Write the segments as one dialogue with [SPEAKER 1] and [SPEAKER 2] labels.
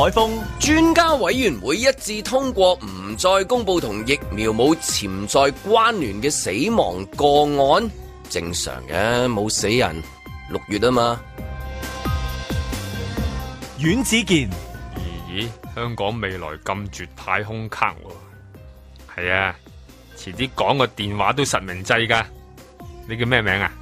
[SPEAKER 1] 海峰，
[SPEAKER 2] 專家委員會一致通過唔再公布同疫苗冇潛在關聯嘅死亡個案，正常嘅，冇死人，6月啊嘛。
[SPEAKER 1] 阮子健，
[SPEAKER 3] 咦，香港未來咁絕太空卡喎？係啊，遲啲講個電話都實名制㗎。你叫咩名啊？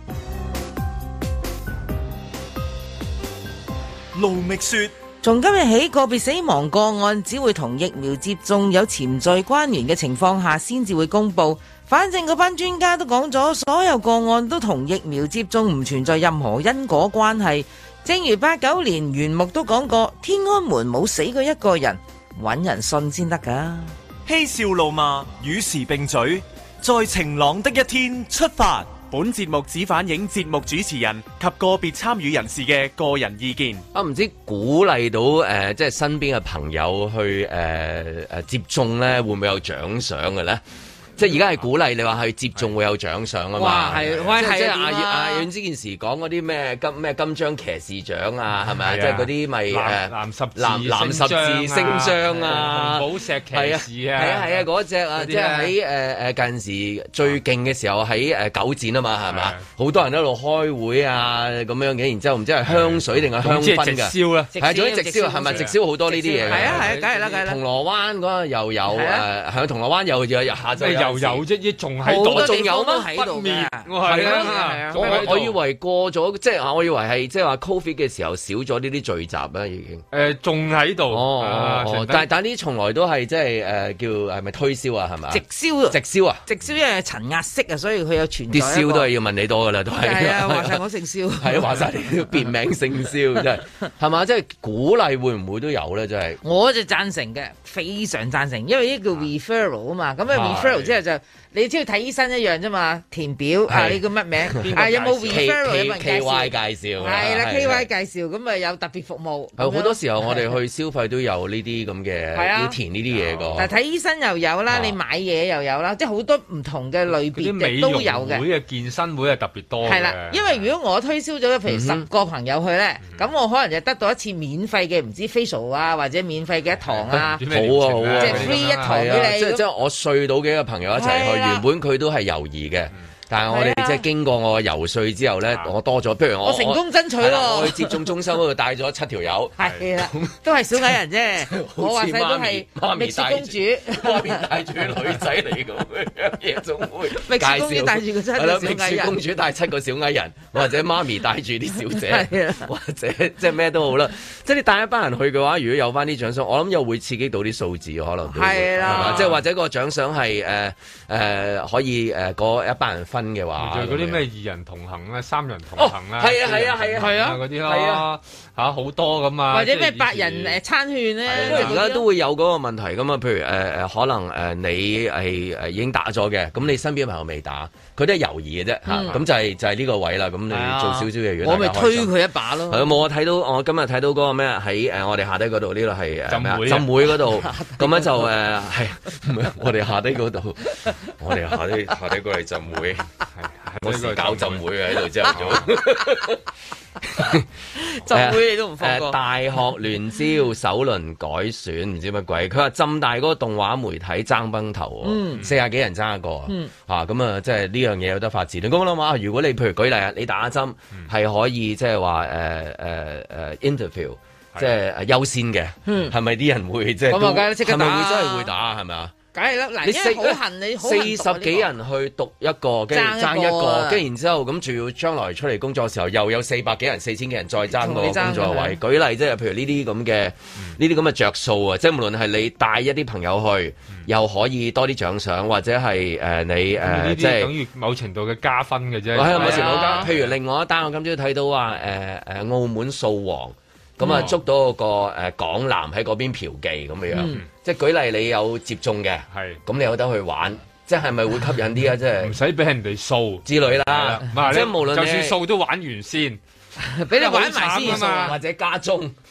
[SPEAKER 1] 盧覓雪，
[SPEAKER 4] 從今日起，個別死亡個案只會同疫苗接種有潛在關聯嘅情況下先至會公佈。反正嗰班專家都講咗，所有個案都同疫苗接種唔存在任何因果關係。正如89年袁木都講過，天安門冇死過一個人，搵人信先得㗎。
[SPEAKER 1] 嬉笑怒罵，與時並舉，在晴朗的一天出發。本節目只反映節目主持人及個別參與人士嘅個人意見。
[SPEAKER 2] 唔知鼓勵到即係身邊嘅朋友去接種咧，會唔會有獎賞嘅咧？即係而家係鼓勵你話去接種會有獎賞啊嘛。
[SPEAKER 4] 哇，係，
[SPEAKER 2] 即係阿阮之件事講嗰啲咩金章騎士獎啊，係咪啊？即係嗰啲咪藍十字星章啊，
[SPEAKER 3] 紅寶石騎士啊，
[SPEAKER 2] 係啊嗰隻啊，即係喺近時最勁嘅時候喺九展啊嘛，係咪？好多人喺度開會啊咁樣嘅，然之後唔知係香水定係香薰㗎？直
[SPEAKER 3] 銷啦，
[SPEAKER 2] 係總之直銷係咪？直銷好多呢啲嘢嘅。
[SPEAKER 4] 係啊，梗係啦。銅
[SPEAKER 2] 鑼灣嗰個又有喺銅鑼灣又下晝。
[SPEAKER 3] 有啫，仲喺度，
[SPEAKER 2] 仲有咩
[SPEAKER 4] 喺度嘅？
[SPEAKER 3] 係啊，
[SPEAKER 2] 我以為過咗，即係我以為係即係話 Covid 嘅時候少咗呢啲聚集啦，已經。
[SPEAKER 3] 仲喺度。
[SPEAKER 2] 但係呢從來都係即係叫係咪推銷啊？係咪？
[SPEAKER 4] 直銷啊！
[SPEAKER 2] 直銷
[SPEAKER 4] 因為陳壓式啊，所以佢有傳
[SPEAKER 2] 啲銷都係要問你多噶啦，都係。
[SPEAKER 4] 係啊，話晒我姓蕭。
[SPEAKER 2] 係啊，話晒你都別名姓蕭，真係係嘛？即係鼓勵會唔會都有咧？真係。
[SPEAKER 4] 我就贊成嘅，非常贊成，因為呢叫 referral 啊嘛，咁啊 referral 之後就。你只要睇醫生一樣啫嘛，填表你叫乜名？有冇 referral 有冇人介紹
[SPEAKER 2] ？KY 介紹
[SPEAKER 4] 係啦，KY 介紹咁啊有特別服務。
[SPEAKER 2] 好多時候我哋去消費都有呢啲咁嘅要填呢啲嘢個。
[SPEAKER 4] 但係睇醫生又有啦，你買嘢又有啦，即係好多唔同嘅類別嘅都有嘅。
[SPEAKER 3] 美容會嘅健身會係特別多嘅。
[SPEAKER 4] 係啦，因為如果我推銷咗譬如10個朋友去咧，咁我可能就得到一次免費嘅唔知 facial 啊，或者免費嘅一堂啊。
[SPEAKER 2] 好啊，
[SPEAKER 4] 即係 free 一堂俾你。
[SPEAKER 2] 即係我睡到幾個朋友一齊去。原本佢都係猶豫嘅，但係我哋即係經過我游說之後咧，我多咗。譬如我
[SPEAKER 4] 成功爭取咯，
[SPEAKER 2] 我去接種中心嗰度帶咗7條友，
[SPEAKER 4] 係啦，都係小矮人啫。我話晒都係蜜雪公主，
[SPEAKER 2] 媽咪帶住女仔嚟咁夜總會，
[SPEAKER 4] 蜜雪公主帶住個7個小矮人，
[SPEAKER 2] 蜜雪公主帶7個小矮人，或者媽咪帶住啲小姐，或者即係咩都好啦。即係你帶一班人去嘅話，如果有翻啲獎賞，我諗又會刺激到啲數字，可能
[SPEAKER 4] 係啦，
[SPEAKER 2] 即係或者個獎賞係可以嗰一班人分嘅話，
[SPEAKER 3] 就嗰啲咩2人同行咧、3人同行啦，
[SPEAKER 2] 係啊
[SPEAKER 3] 嗰啲咯，嚇好多咁啊，
[SPEAKER 4] 或者咩8人餐券咧，
[SPEAKER 2] 而家都會有嗰個問題噶嘛。譬如可能你係已經打咗嘅，咁你身邊嘅朋友未打，佢都係猶豫嘅啫嚇。咁就係呢個位啦。咁你做少少嘢，
[SPEAKER 4] 我咪推佢一把咯。
[SPEAKER 2] 係冇我今日睇到嗰個咩喺我哋下低嗰度，呢度係浸會嗰度，咁樣就係我哋下低嗰度，我哋下低過嚟浸會，我時搞浸會喺度之後做。
[SPEAKER 4] 浸會你都唔放過。
[SPEAKER 2] 大學聯招首輪改選唔知乜鬼，佢話浸大嗰個動畫媒體爭崩頭，40幾人爭一個咁啊，即係呢樣嘢有得發展。咁我諗下，如果你譬如舉例啊，你打針係可以即係話interview，即係優先嘅，係咪啲人會即係？
[SPEAKER 4] 咁啊，梗係即刻打，
[SPEAKER 2] 係咪會真係會打？係咪啊？
[SPEAKER 4] 梗係啦，嗱，因為好恨你
[SPEAKER 2] 40幾人去讀一個，跟住爭一個，跟住然之後咁，仲要將來出嚟工作嘅時候，又有400幾人、4000幾人再爭個工作位。舉例即係譬如呢啲咁嘅着數啊，即係無論係你帶一啲朋友去，又可以多啲獎賞，或者係你即係
[SPEAKER 3] 等於某程度嘅加分嘅啫。
[SPEAKER 2] 係某程度加。譬如另外一單，我今朝睇到話澳門掃黃。咁啊，捉到個港男喺嗰邊嫖妓咁樣，即係舉例你有接種嘅，咁你有得去玩，即係咪會吸引啲啊？即係
[SPEAKER 3] 唔使俾人哋掃
[SPEAKER 2] 之類啦，即係無論
[SPEAKER 3] 就算掃都玩完先，
[SPEAKER 4] 俾你玩埋先
[SPEAKER 2] 啊嘛，或者加鐘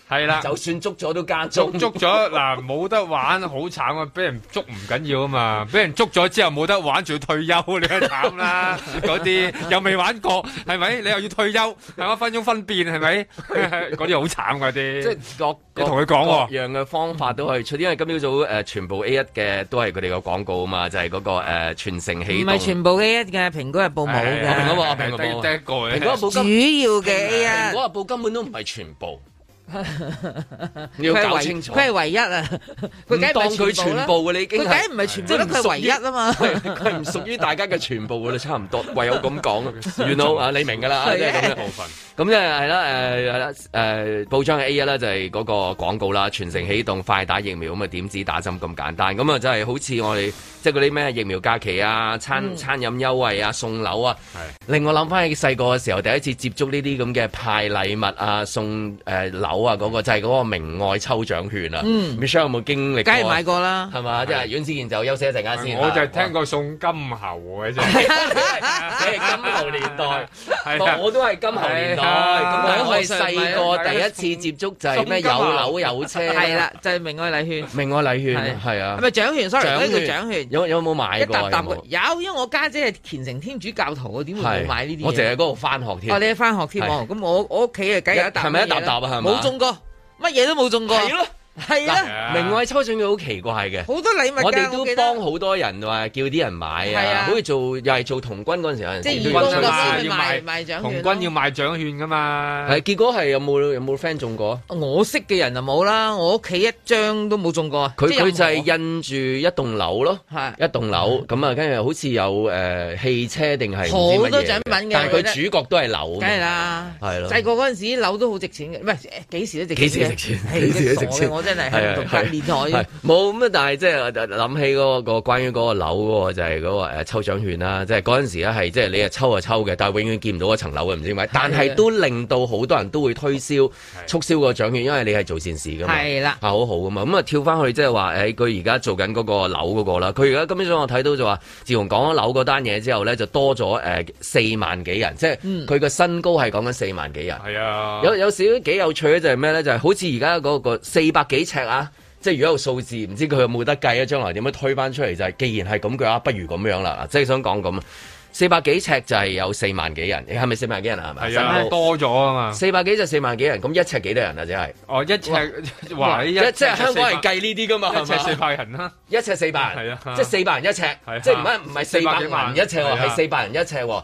[SPEAKER 3] 係啦，
[SPEAKER 2] 就算捉咗都加捉
[SPEAKER 3] 咗嗱，冇得玩，好慘啊！俾人捉唔緊要啊嘛，俾人捉咗之後冇得玩，仲要退休，你都慘啦！嗰啲又未玩過，係咪？你又要退休，係1分鐘分辨，係咪？嗰啲好慘嗰啲。
[SPEAKER 2] 即係
[SPEAKER 3] 你同佢講
[SPEAKER 2] 各樣嘅方法都可以出，因為今朝早全部 A1 嘅都係佢哋嘅廣告啊嘛，就係嗰個全城起動。唔
[SPEAKER 4] 係全部 A1 嘅，蘋果日報冇嘅。
[SPEAKER 2] 蘋果日報
[SPEAKER 3] 第一個嘅。
[SPEAKER 2] 蘋果日報
[SPEAKER 4] 主要嘅 A1。
[SPEAKER 2] 蘋果日報根本都唔係全部。你要搞清楚，
[SPEAKER 4] 佢係唯一啊！佢梗係
[SPEAKER 2] 當佢全部嘅，你已經
[SPEAKER 4] 佢梗係唔係全部，佢係唯一啊嘛！
[SPEAKER 2] 佢唔屬於大家嘅全部嘅啦，差唔多，唯有咁講。原來啊，你明㗎啦，即係咁樣部分。咁即係啦，報章嘅 A1 啦，就係嗰個廣告啦，全城起動，快打疫苗咁啊，點止打針咁簡單？咁啊，真係好似我哋即係嗰啲咩疫苗假期啊、餐飲優惠啊、送樓啊，令我諗翻起細個嘅時候，第一次接觸呢啲咁嘅派禮物啊、送樓啊，嗰個就係嗰個明愛抽獎券啊。Michelle 有冇經歷過？
[SPEAKER 4] 梗係買過啦，
[SPEAKER 2] 係嘛？即係阮子健就休息一陣間先。
[SPEAKER 3] 我就係聽過送金猴嘅啫，
[SPEAKER 2] 你係金猴年代，我都係金猴年代。咁但係我係細個第一次接觸就係咩有樓有車，
[SPEAKER 4] 係啦，就係明愛禮券。
[SPEAKER 2] 明愛禮券係啊，
[SPEAKER 4] 係咪獎券？sorry，呢個獎券
[SPEAKER 2] 有冇買過？
[SPEAKER 4] 有，因為我家姐係虔誠天主教徒，我點會冇買呢啲嘢？
[SPEAKER 2] 我淨係嗰度翻學添。
[SPEAKER 4] 你喺翻學添喎？咁我屋企啊，梗有一沓。
[SPEAKER 2] 係咪一沓沓啊？係咪？
[SPEAKER 4] 冇中過，乜嘢都冇中過。
[SPEAKER 2] 係咯。係啦，明愛抽獎佢好奇怪嘅，好
[SPEAKER 4] 多禮物。
[SPEAKER 2] 我哋都幫好多人話叫啲人買啊，好似又係做童軍嗰陣時有陣時，
[SPEAKER 4] 即係義工嗰時要賣獎券，
[SPEAKER 3] 童軍要賣獎券噶嘛。
[SPEAKER 2] 係結果係有冇 friend 中過？
[SPEAKER 4] 我識嘅人就冇啦，我屋企一張都冇中過。
[SPEAKER 2] 佢就係印住一棟樓咯，一棟樓咁啊，跟住好似有汽車定係
[SPEAKER 4] 好多獎品嘅，
[SPEAKER 2] 但係佢主角都係樓，
[SPEAKER 4] 梗係啦，
[SPEAKER 2] 係咯。
[SPEAKER 4] 細個嗰陣時樓都好值錢嘅，唔係幾時都值錢，
[SPEAKER 2] 幾時值錢？幾時都值錢。
[SPEAKER 4] 我真係喺度隔年台
[SPEAKER 2] 冇咁啊！但係即係諗起嗰個關於嗰個樓嗰個就係嗰個抽獎券啦，即係嗰陣時咧係即係你抽就抽嘅，但係永遠見唔到嗰層樓嘅，唔知點解。但係都令到好多人都會推銷促銷個獎券，因為你係做善事噶嘛，係啦，好好噶嘛。咁啊跳翻去即係話佢而家做緊嗰個樓嗰個啦。佢而家今朝早我睇到就話，自從講咗樓嗰單嘢之後咧，就多咗4萬幾人，即係佢個身高係講緊4萬幾人。係啊，有少幾有趣咧，就係咩咧？就係好似而家嗰個400幾尺啊！即係如果有數字，唔知佢有冇得計啊？將來點樣推翻出嚟就係，既然係咁嘅話，不如咁樣啦。即係想講咁，400幾尺就係有4萬幾人，你係咪4萬幾人啊？係咪？
[SPEAKER 3] 係啊，多咗啊嘛。400
[SPEAKER 2] 幾就4萬幾人，咁1尺幾多人啊？即係
[SPEAKER 3] 哦，1尺話
[SPEAKER 2] 即係香港係計呢啲噶嘛
[SPEAKER 3] ？1尺400人啦
[SPEAKER 2] ，1尺400人，係啊，即係400人1尺，即係唔係400人1尺喎，係400人1尺喎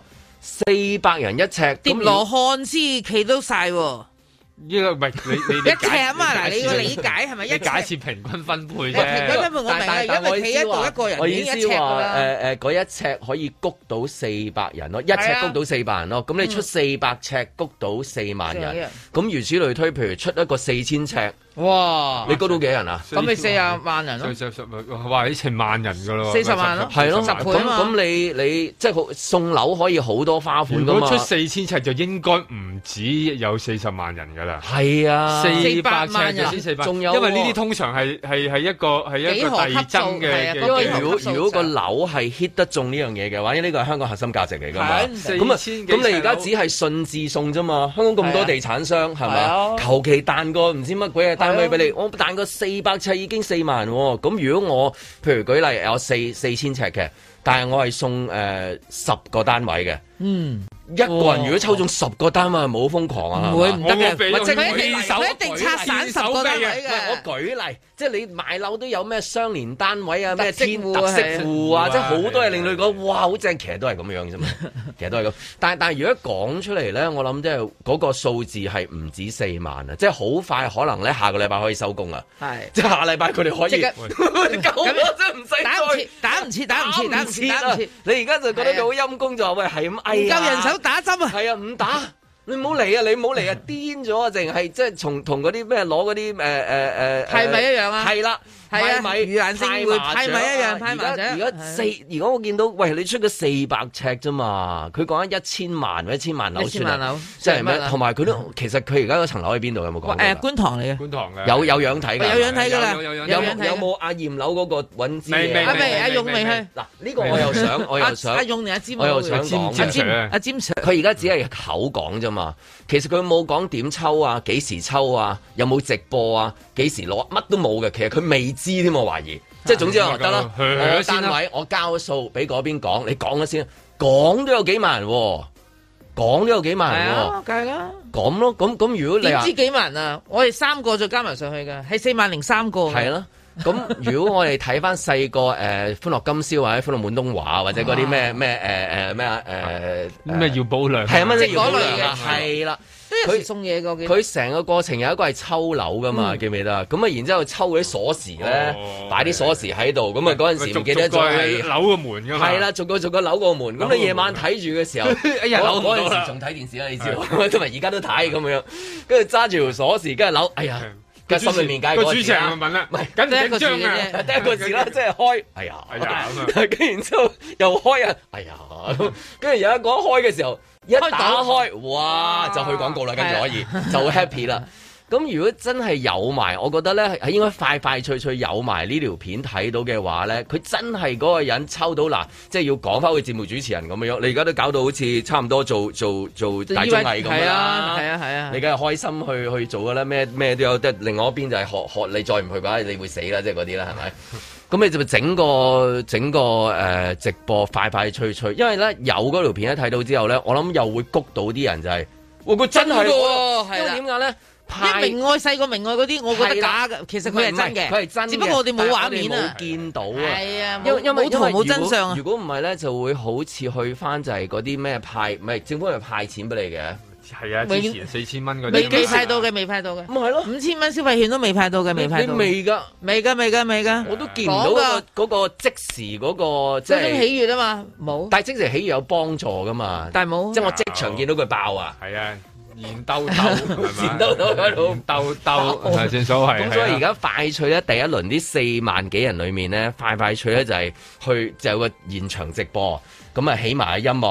[SPEAKER 2] ，400人1尺，
[SPEAKER 4] 疊羅漢先企到晒喎。
[SPEAKER 3] 呢個唔係你
[SPEAKER 4] 一尺啊嘛，嗱你個理解係咪一尺？
[SPEAKER 3] 假設平均分配啫。
[SPEAKER 4] 平均分配我明啊，因為企喺度一個人已經1尺㗎啦。
[SPEAKER 2] 嗰1尺可以谷到400人咯，1尺谷到400人咯。咁你出400尺谷到4萬人，咁如此類推，譬如出一個4000尺。哇！你高到幾人啊？
[SPEAKER 4] 咁你40萬人咯，
[SPEAKER 3] 哇！你成萬人噶咯
[SPEAKER 4] ，40萬咯，
[SPEAKER 2] 係咯，咁你即係送樓可以好多花款噶嘛？
[SPEAKER 3] 如果出4000尺就應該唔止有40萬人噶啦。
[SPEAKER 2] 係啊
[SPEAKER 4] ，400萬人
[SPEAKER 3] 先400，仲有，因為呢啲通常係一個遞增嘅。
[SPEAKER 2] 因為如果個樓係 hit 得中呢樣嘢嘅話，因為呢個係香港核心價值嚟噶嘛。咁你而家只係順治送啫嘛？香港咁多地產商係咪？求其彈個唔知乜鬼嘢單位俾你，我彈個400尺已經4萬喎。咁如果我譬如舉例有4000尺嘅，但係我係送10個單位嘅。一個人如果抽中10個單位，係冇瘋狂啊！
[SPEAKER 4] 唔會唔得嘅，
[SPEAKER 2] 佢
[SPEAKER 4] 一定拆散10個單位嘅。
[SPEAKER 2] 我舉例，即係你買樓都有咩相連單位啊，咩特色戶啊，即係好多嘢令你講哇好正，其實都係咁樣啫嘛，其實都係咁。但係如果講出嚟咧，我諗即係嗰個數字係唔止4萬啊，即係好快可能咧下個禮拜可以收工啊，係即係下禮拜佢哋可以夠啦，真係唔使
[SPEAKER 4] 打唔切，
[SPEAKER 2] 你而家就覺得佢好陰功就話喂係咁，
[SPEAKER 4] 唔夠人手打針啊，
[SPEAKER 2] 係啊唔打。你唔好嚟啊！你唔好嚟啊！癲咗啊！淨係即係同嗰啲咩攞嗰啲係咪一樣啊？係啦， 派米、
[SPEAKER 4] 盂蘭勝會派米一樣派麻雀。
[SPEAKER 2] 而家我見到，喂，你出咗400尺啫嘛？佢講緊1000萬或者1000萬樓算啊，即係咩？同埋佢都其實佢而家嗰層樓喺邊度有冇講？
[SPEAKER 4] 觀塘嚟嘅，
[SPEAKER 3] 觀塘嘅
[SPEAKER 2] 有樣睇㗎，
[SPEAKER 4] 有樣睇㗎啦。
[SPEAKER 2] 有冇阿驗樓嗰個揾資？
[SPEAKER 3] 未
[SPEAKER 4] 阿勇未去。
[SPEAKER 2] 嗱，呢個我又想
[SPEAKER 4] 阿勇定阿詹？
[SPEAKER 2] 我又想講
[SPEAKER 4] 阿詹 Sir，
[SPEAKER 2] 佢而家只係口講啫嘛。其實佢冇講點抽啊，幾時抽啊，有冇直播啊，幾時攞，乜都冇嘅。其實佢未知添，我懷疑。即係總之我得啦，我單位我交數俾嗰邊講，你講咗先，講都有幾萬人喎，講都有幾萬人喎，
[SPEAKER 4] 梗係啦。
[SPEAKER 2] 咁咯，咁如果你
[SPEAKER 4] 點知幾萬啊？我哋3個再加埋上去㗎，係40003個。
[SPEAKER 2] 係咯。咁如果我哋睇翻細個歡樂今宵或者歡樂滿東華或者嗰啲咩
[SPEAKER 3] 咩耀保良
[SPEAKER 2] 係啊乜嘢耀保良啊係啦，
[SPEAKER 4] 都有時送嘢㗎。
[SPEAKER 2] 佢成個過程有一個係抽樓噶嘛，記唔記得？咁啊，然之後抽嗰啲鎖匙咧，擺啲鎖匙喺度，咁啊嗰陣時唔記得咗係
[SPEAKER 3] 扭個門㗎嘛。係
[SPEAKER 2] 啦，逐個扭個門。咁你夜晚睇住嘅時候，我嗰陣時仲睇電視啦，你知道，同埋而家都睇咁樣，跟住揸住條鎖匙，跟住扭，哎呀！個心裏面解個
[SPEAKER 3] 主持人問啦，唔係緊
[SPEAKER 4] 第一個字
[SPEAKER 3] 嘅，
[SPEAKER 2] 第一個字啦，即係開，哎呀，跟住然之後又開啊，哎呀，跟住有一個開嘅時候，一打開，哇，就去廣告啦，跟住可以就 happy 啦。咁如果真係有埋，我覺得咧係應該快快脆脆有埋呢條片睇到嘅話咧，佢真係嗰個人抽到嗱，即係要講翻佢節目主持人咁樣。你而家都搞到好似差唔多做大綜藝咁啦，係啊，你梗係開心去做噶啦，咩都有。即係另外一邊就係學你再唔去嘅話，你會死啦，即係嗰啲啦，係咪？咁你就整個直播快快脆脆，因為咧有嗰條片一睇到之後咧，我諗又會谷到啲人就係，佢真係喎，因為點解咧？
[SPEAKER 4] 明愛細過明愛嗰啲，我覺得假嘅。其實佢係真嘅，
[SPEAKER 2] 佢係真嘅。
[SPEAKER 4] 只不過我哋冇畫面啊，
[SPEAKER 2] 冇見到啊。
[SPEAKER 4] 係啊，冇圖冇真相啊。
[SPEAKER 2] 如果唔係咧，就會好似去翻就係嗰啲咩派，唔係政府係派錢俾你嘅。
[SPEAKER 3] 係啊，之前4000蚊嗰啲
[SPEAKER 4] 未派到嘅，未派到嘅。
[SPEAKER 2] 咁係咯
[SPEAKER 4] ，5000蚊消費券都未派到嘅，未派到。
[SPEAKER 2] 未㗎，
[SPEAKER 4] 我
[SPEAKER 2] 都見唔到嗰個即時嗰個即係
[SPEAKER 4] 喜悅啊嘛，冇。
[SPEAKER 2] 但係即時喜悅有幫助㗎嘛，
[SPEAKER 4] 但係冇。
[SPEAKER 2] 即係我即場見到佢爆啊。
[SPEAKER 3] 係啊。現兜兜
[SPEAKER 2] 喺度
[SPEAKER 3] 兜係正所謂。
[SPEAKER 2] 咁所以而家快脆咧，第一輪啲4萬幾人裏面咧，快脆咧就係去就有個現場直播，咁啊起埋音樂，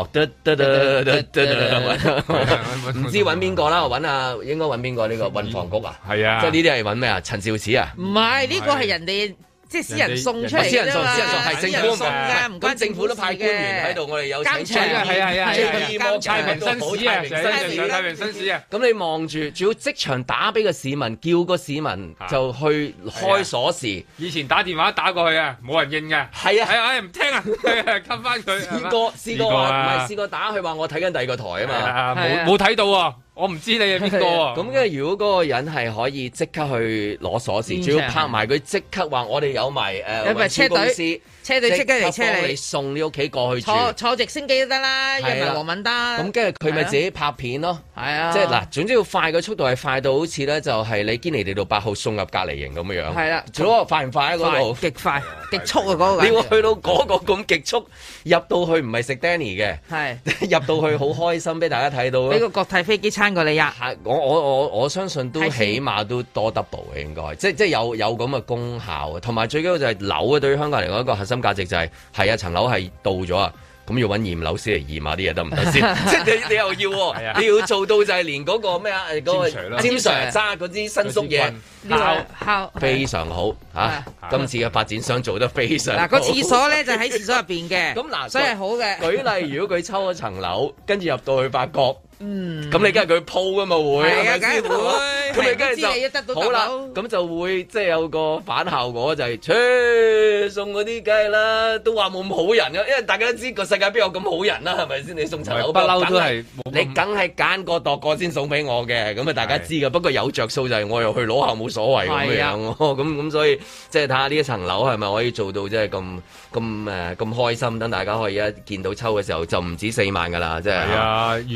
[SPEAKER 2] 唔知揾邊個啦？應該揾邊個呢個運房局啊？
[SPEAKER 3] 係啊，
[SPEAKER 2] 即係呢啲係揾咩啊？陳肇始啊？
[SPEAKER 4] 唔係，呢個係人哋。即係私人送出嚟
[SPEAKER 2] 私人送係政府
[SPEAKER 4] 送㗎，唔關
[SPEAKER 2] 政府都派官員喺度，我哋有請出
[SPEAKER 3] 係太平紳士啊，太平紳士啊！
[SPEAKER 2] 咁你望住，仲要即場打俾個市民，叫個市民就去開鎖匙。
[SPEAKER 3] 以前打電話打過去啊，冇人應嘅。係啊，唔聽啊，吸翻佢。
[SPEAKER 2] 試過打去話我睇緊第二個台啊嘛，
[SPEAKER 3] 冇睇到啊。我唔知你係邊個啊？
[SPEAKER 2] 咁跟住如果嗰個人係可以即刻去攞鎖匙，仲要拍埋佢即刻話我哋有埋運輸公司。
[SPEAKER 4] 車隊即刻嚟車
[SPEAKER 2] 你送你屋企過去住，
[SPEAKER 4] 坐直升機都得啦，又唔係黃敏德。
[SPEAKER 2] 咁跟住佢咪自己拍片咯，
[SPEAKER 4] 係啊，
[SPEAKER 2] 即係嗱，總之要快嘅速度係快到好似咧，就係你堅尼地道8號送入隔離營咁樣樣。係啦，做嗰個快唔快喺嗰度？極快，極速啊！嗰個你要去到嗰個咁極速，入到去唔係食 Danny 嘅，係入到去好開心，俾大家睇到。俾個國泰飛機餐過你呀！我相信都起碼都多 double 嘅應該，即係有咁嘅功效，同埋最緊要就係樓啊！對於香港嚟講一個核心價值就係啊層樓係到咗啊，咁要揾驗樓師嚟驗下啲嘢得唔得先？即係你又要，你要做到就係連嗰個咩啊嗰個詹 Sir 揸嗰啲新宿嘢敲非常好嚇，今次嘅發展商做得非常好。
[SPEAKER 4] 嗱個廁所咧就喺廁所入邊嘅，咁嗱所以係好嘅。舉
[SPEAKER 2] 例如果佢抽咗層樓，跟住入到去發覺。咁你梗係佢鋪噶嘛會，係咪先？咁你梗係就好啦，咁就會即係有個反效果就係，送嗰啲梗係啦，都話冇咁好人噶，因為大家都知個世界邊有咁好人啦，係咪先？你送層樓不嬲都係，你梗係揀個度個先送俾我嘅，咁啊大家知噶。不過有着數就係我又去攞下冇所謂咁樣咯。咁所以即係睇下呢一層樓係咪可以做到即係咁開心，等大家可以一見到抽嘅時候就唔止4萬噶啦，即係。係啊，
[SPEAKER 3] 如果你諗下。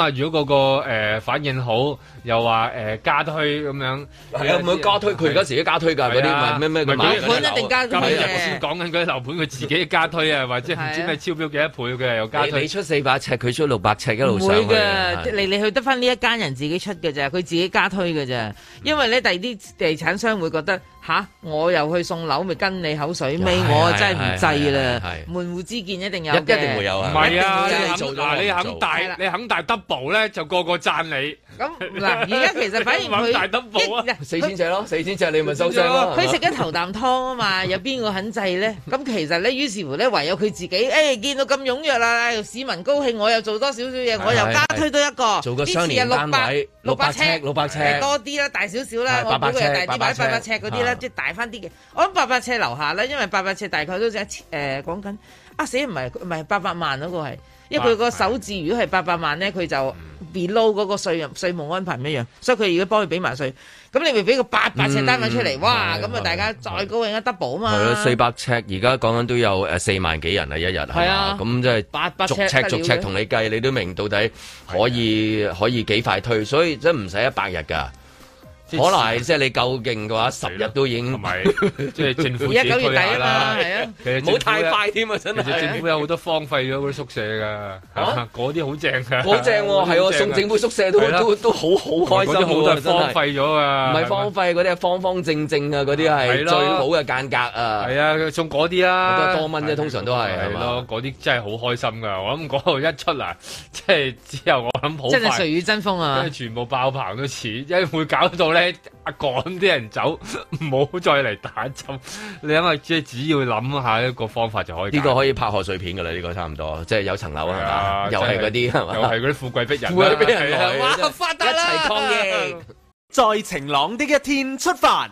[SPEAKER 3] 下，如果個反應好，又話加推咁樣，
[SPEAKER 2] 係啊，唔加推，佢而家自己加推㗎，嗰啲咩樓
[SPEAKER 4] 盤一定加推嘅。
[SPEAKER 3] 我先講緊嗰啲樓盤，佢自己加推啊，或者唔知咩超標幾多倍嘅又加推。
[SPEAKER 2] 你出400尺，佢出600尺，一路上
[SPEAKER 4] 去。唔會嘅，嚟去得翻呢一間人自己出嘅咋，佢自己加推嘅咋。因為咧，第二啲地產商會覺得我又去送樓，咪跟你口水尾，我真係唔制啦。門戶之見一定有嘅，
[SPEAKER 2] 一定會有啊。
[SPEAKER 3] 唔係啊，你肯大 double 咧，就個個讚你。
[SPEAKER 4] 咁嗱，而家其實反而佢
[SPEAKER 3] 大 double 啊
[SPEAKER 2] ，4000尺咯，4000尺你咪收聲咯。
[SPEAKER 4] 佢食咗頭啖湯啊嘛，有邊個肯制咧？咁其實咧，於是乎咧，唯有佢自己，見到咁踴躍啦，市民高興，我又做多少少嘢，我又加推多一個，
[SPEAKER 2] 做個雙連單位，600尺
[SPEAKER 4] 多啲啦，大少少啦，我估佢係大啲，擺800尺嗰啲啦，即係大翻啲嘅。我諗800尺樓下咧，因為800尺大概都講緊唔係800萬嗰個係。因為佢個首置如果係800萬咧，佢就 below 嗰個稅務安排唔一樣，所以佢如果幫佢俾埋稅，咁你咪俾個800尺單位出嚟，哇！咁啊大家再高興一 double 啊嘛。係
[SPEAKER 2] 咯，400尺而家講緊都有4萬幾人啊，一日係啊，咁即係逐尺同你計，你都明到底可以幾快推，所以真唔使100日㗎。可能係即係你夠勁嘅話，10日都已經
[SPEAKER 3] 同埋即係政府自己推
[SPEAKER 4] 9月底啦，係啊，
[SPEAKER 2] 其實唔好太快添啊，真係。
[SPEAKER 3] 其實政府有好多荒廢咗嗰啲宿舍㗎，嗰啲好正㗎，
[SPEAKER 2] 好正喎，係喎，送政府宿舍都好開心，
[SPEAKER 3] 好多荒廢咗啊，
[SPEAKER 2] 唔係荒廢嗰啲係方方正正啊，嗰啲係最好嘅間隔啊，
[SPEAKER 3] 係啊，送嗰啲啦，
[SPEAKER 2] 多蚊啫，通常都係係
[SPEAKER 3] 咯，嗰啲真係好開心㗎，我諗嗰度一出嚟，即係之後我諗好快，
[SPEAKER 4] 真係誰與爭鋒啊，
[SPEAKER 3] 即係全部爆棚都似，因為會搞到咧。趕啲人走，唔好再嚟打針。你諗下，即係只要諗下一個方法就可以。呢
[SPEAKER 2] 個可以拍賀歲片噶啦，呢個差唔多，即係有層樓係嘛，又係嗰啲係嘛，
[SPEAKER 3] 又係嗰啲富貴逼人，
[SPEAKER 2] 富貴逼人來，
[SPEAKER 4] 哇！發達啦，
[SPEAKER 2] 一齊抗疫，
[SPEAKER 1] 在晴朗的一天出發。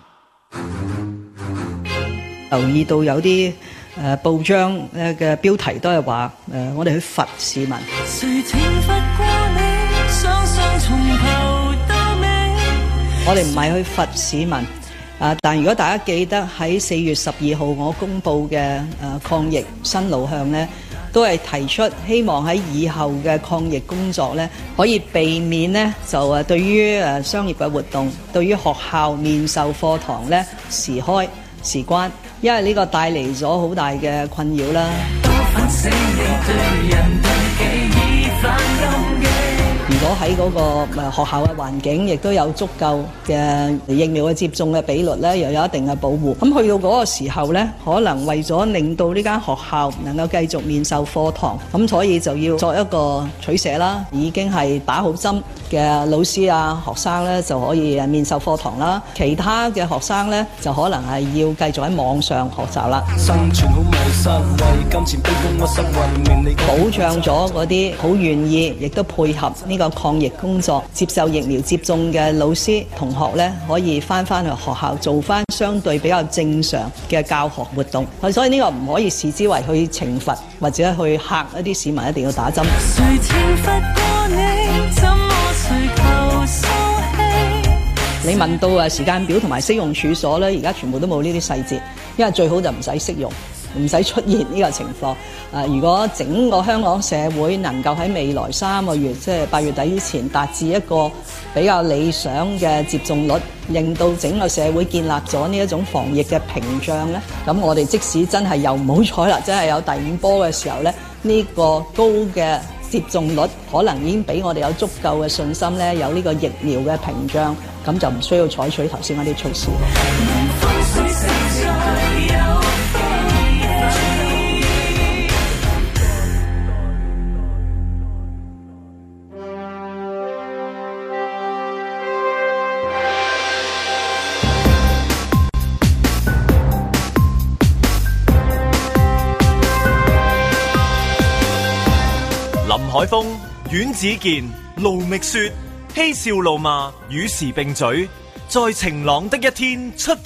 [SPEAKER 5] 留意到有啲報章嘅標題都係話我哋去罰市民。我哋唔係去罰市民，但如果大家記得喺4月12號我公布嘅抗疫新路向呢，都係提出希望喺以後嘅抗疫工作呢，可以避免呢就對於商業嘅活動，對於學校面授課堂呢時開時關，因為呢個帶嚟咗好大嘅困擾啦。如果喺嗰個學校嘅環境亦都有足夠嘅疫苗嘅接種嘅比率咧，又有一定嘅保護，咁去到嗰個時候咧，可能為咗令到呢間學校能夠繼續面授課堂，咁所以就要作一個取捨啦。已經係打好針嘅老師啊、學生咧就可以面授課堂啦，其他嘅學生咧就可能係要繼續喺網上學習啦。保障咗嗰啲好願意亦都配合呢個抗疫工作、接受疫苗接種嘅老師同學咧，可以翻去學校做翻相對比較正常嘅教學活動。所以呢個唔可以視之為去懲罰或者去嚇一啲市民一定要打針。你問到時間表同埋適用處所咧，而家全部都冇呢啲細節，因為最好就唔使適用。唔使出現呢個情況。如果整個香港社會能夠喺未來3個月，即係8月底之前達至一個比較理想嘅接種率，令到整個社會建立咗呢一種防疫嘅屏障咧，咁我哋即使真係又唔好彩啦，真係有第5波嘅時候咧，呢個高嘅接種率可能已經俾我哋有足夠嘅信心咧，有呢個疫苗嘅屏障，咁就唔需要採取頭先嗰啲措施。
[SPEAKER 1] 林海峰、阮子健、盧覓雪，嬉笑怒罵與時並舉，在晴朗的一天出發。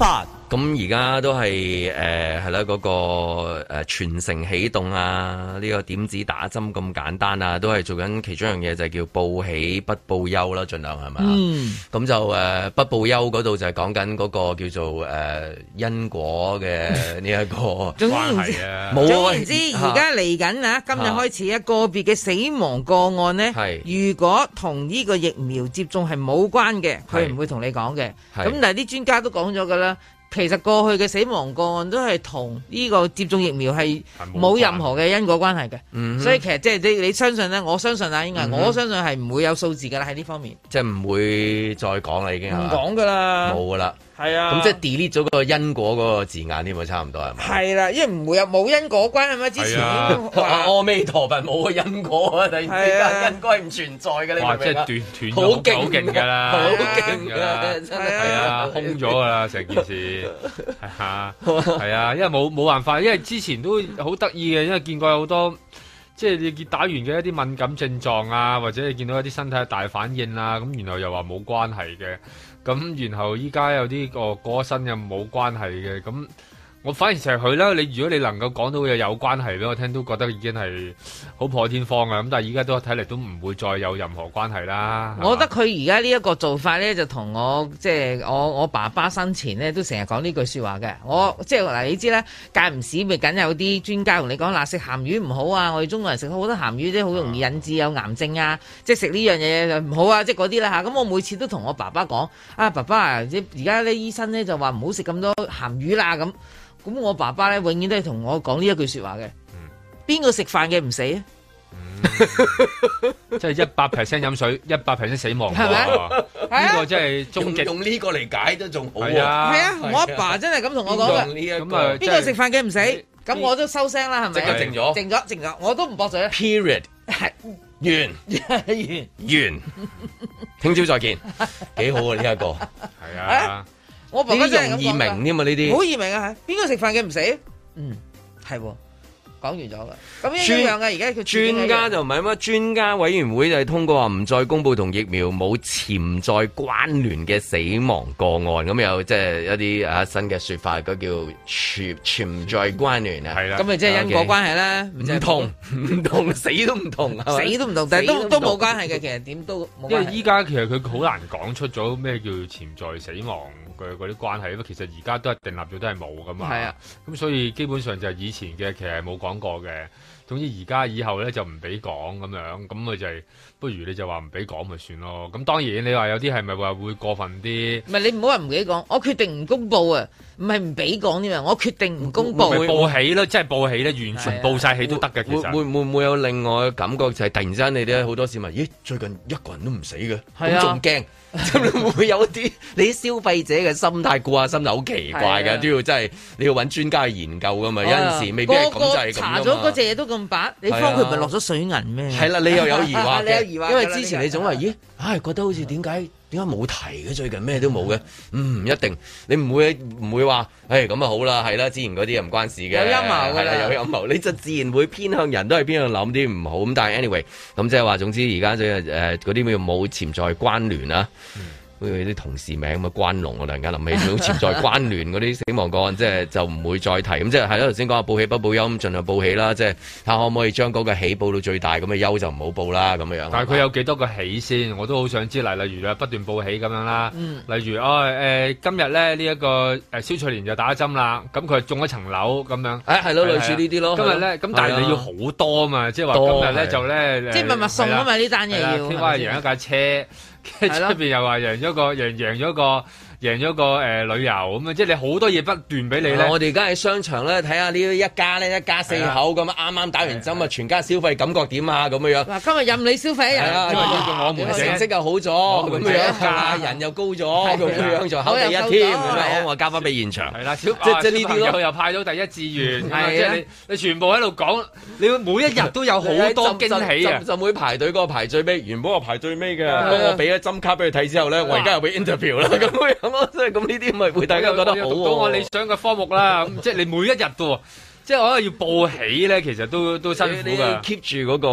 [SPEAKER 2] 咁而家都係係啦，嗰個全城啟動啊，呢個點子打針咁簡單啊，都係做緊其中一樣嘢，就係叫報喜不報憂啦，盡量係咪？咁就不報憂嗰度就係講緊嗰個叫做因果嘅呢一個關係啊。
[SPEAKER 4] 總言之，而家嚟緊啊，今日開始個別嘅死亡個案呢，如果同呢個疫苗接種係冇關嘅，佢唔會同你講嘅。咁但係啲專家都講咗㗎啦。其實過去嘅死亡個案都係同呢個接種疫苗係冇任何嘅因果關係嘅，所以其實即係你相信咧，我相信啊，應該我相信係唔會有數字噶啦喺呢方面，
[SPEAKER 2] 即係唔會再講啦，已經唔
[SPEAKER 4] 講噶啦，
[SPEAKER 2] 冇噶啦，
[SPEAKER 4] 係啊，
[SPEAKER 2] 咁即係 delete 咗個因果嗰個字眼添啊，差唔多係咪？
[SPEAKER 4] 係啦，因為唔會有冇因果關係嘛，之前
[SPEAKER 2] 阿彌陀佛冇個因果啊，突然之間因果係唔存在嘅，你明唔明啊？
[SPEAKER 3] 即係斷
[SPEAKER 2] 好勁
[SPEAKER 3] 㗎啦，
[SPEAKER 2] 好勁㗎，真係
[SPEAKER 3] 啊，空咗㗎啦成件事。係啊，因為冇辦法，因為之前都好得意嘅，因為見過有好多，即係你打完嘅一啲敏感症狀啊，或者你見到一啲身體嘅大反應啊，咁然後又話冇關係嘅，咁然後依家有啲過身又冇關係嘅，咁。我反而成日佢啦，如果你能夠講到嘅有關係俾我聽，都覺得已經係好破天荒啊！咁但係而家都睇嚟都唔會再有任何關係啦。
[SPEAKER 4] 我覺得佢而家呢一個做法咧，就同我即係我爸爸生前咧都成日講呢句説話嘅。我即係嗱，你知啦，間唔時咪梗有啲專家同你講嗱，食鹹魚唔好啊！我哋中國人食好多鹹魚，即係好容易引致有癌症啊！即係食呢樣嘢就唔好啊！即係嗰啲啦嚇。咁我每次都同我爸爸講啊，爸爸啊，而家咧醫生咧就話唔好食咁多鹹魚啦咁。咁我爸爸咧永遠都係同我講呢一句説話嘅，邊個食飯嘅唔死啊？
[SPEAKER 3] 即係100% 飲水，100% 死亡，
[SPEAKER 4] 係咪？
[SPEAKER 3] 呢個真係終極。
[SPEAKER 2] 用呢個嚟解都仲好。
[SPEAKER 3] 係啊，
[SPEAKER 4] 係啊，我阿爸真係咁同我講嘅。咁啊，邊個食飯嘅唔死？咁我都收聲啦，係咪？
[SPEAKER 2] 即刻靜咗，
[SPEAKER 4] 靜咗，我都唔駁嘴。
[SPEAKER 2] Period。係完。聽朝再見，幾好啊呢一個。
[SPEAKER 3] 係啊。
[SPEAKER 4] 我爸爸真係咁講㗎，
[SPEAKER 2] 容易明添嘛呢啲，
[SPEAKER 4] 好易明啊！邊個食飯嘅唔死？係喎，講完咗啦。咁一樣嘅，而家佢
[SPEAKER 2] 專家就唔係乜，專家委員會就係通過話唔再公佈同疫苗冇潛在關聯嘅死亡個案，咁有即係一啲新嘅説法，嗰叫潛在關聯啊。係啦，
[SPEAKER 4] 咁咪即係因果關係啦。
[SPEAKER 2] 唔同，死都唔同，
[SPEAKER 4] 死都唔同，但係都冇關係嘅。其實點都冇關係。
[SPEAKER 3] 因為依家其實佢好難講出咗咩叫潛在死亡嗰啲關係，因為其實而家都係訂立咗都係冇噶嘛。係啊，咁所以基本上就係以前嘅其實係冇講過嘅。總之而家以後咧就唔俾講咁樣，咁咪就係不如你就話唔俾講咪算咯。咁當然你話有啲係咪話會過分啲？唔係你唔好話唔俾講，我決定唔公佈啊，唔係唔俾講添啊，我決定唔公佈。 會報喜咯，即係報喜咧，完全報晒喜都得嘅。其實會
[SPEAKER 2] 唔會有另外嘅感覺，就係突然之間你哋好多市民，咦最近一個人都唔死嘅，咁仲驚？會唔會有啲你啲消費者嘅心態顧下心就好奇怪嘅，都要真係你要揾專家去研究噶嘛。有陣時未必係咁就係咁。查咗嗰隻嘢都咁白，你方佢唔係落咗水銀咩？係啦，你又有疑惑嘅，因為之前你總話咦，覺得好似點解冇提嘅，最近咩都冇嘅。一定你唔會話，咁啊好啦，係啦，之前嗰啲又唔關事嘅，有陰謀㗎啦，有陰謀，你就自然會偏向人都係偏向諗啲唔好咁。但係 anyway，咁即係話總之而家嗰啲咩冇潛在關聯啊。好似啲同事名咁啊，關龍我突然間諗起，潛在關聯嗰啲死亡個案，即係就唔會再提。咁即係係啦，頭先講話報喜不報憂，咁盡量報喜啦。即係睇下可唔可以將嗰個喜報到最大，咁嘅憂就唔好報啦。咁樣。但係佢有幾多個喜先？我都好想知。例如不斷報喜咁樣啦。例如今日咧呢一個蕭翠蓮就打針啦，咁佢中咗層樓咁樣。係咯，類似呢啲咯。今日咧咁，但係你要好多啊嘛，即係話今日咧就咧，即係密密送啊嘛呢單嘢要。聽話贏一架車。跟住出邊又話贏咗個旅遊咁啊！即係你好多嘢不斷俾你咧。我哋而家喺商場咧睇下呢一家4口咁啱啱打完針啊，全家消費感覺點啊咁樣。嗱，今日任你消費一日，我們成績又好咗，咁樣人又高咗，咁樣就考第一添。我交翻俾現場。係啦，即係呢啲咯。又派咗第一志願，即係你全部喺度講，你每一日都有好多驚喜啊！就會排隊嗰個排最尾，原本我排最尾嘅，我俾咗針卡俾佢睇之後咧，我而家又俾 interview 啦，咁樣咯，即係咁呢啲咪會大家覺得好。到我理想嘅科目啦，即係你每一日都，
[SPEAKER 3] 即係我覺得要報喜咧，其實都辛苦㗎。
[SPEAKER 2] keep 住嗰個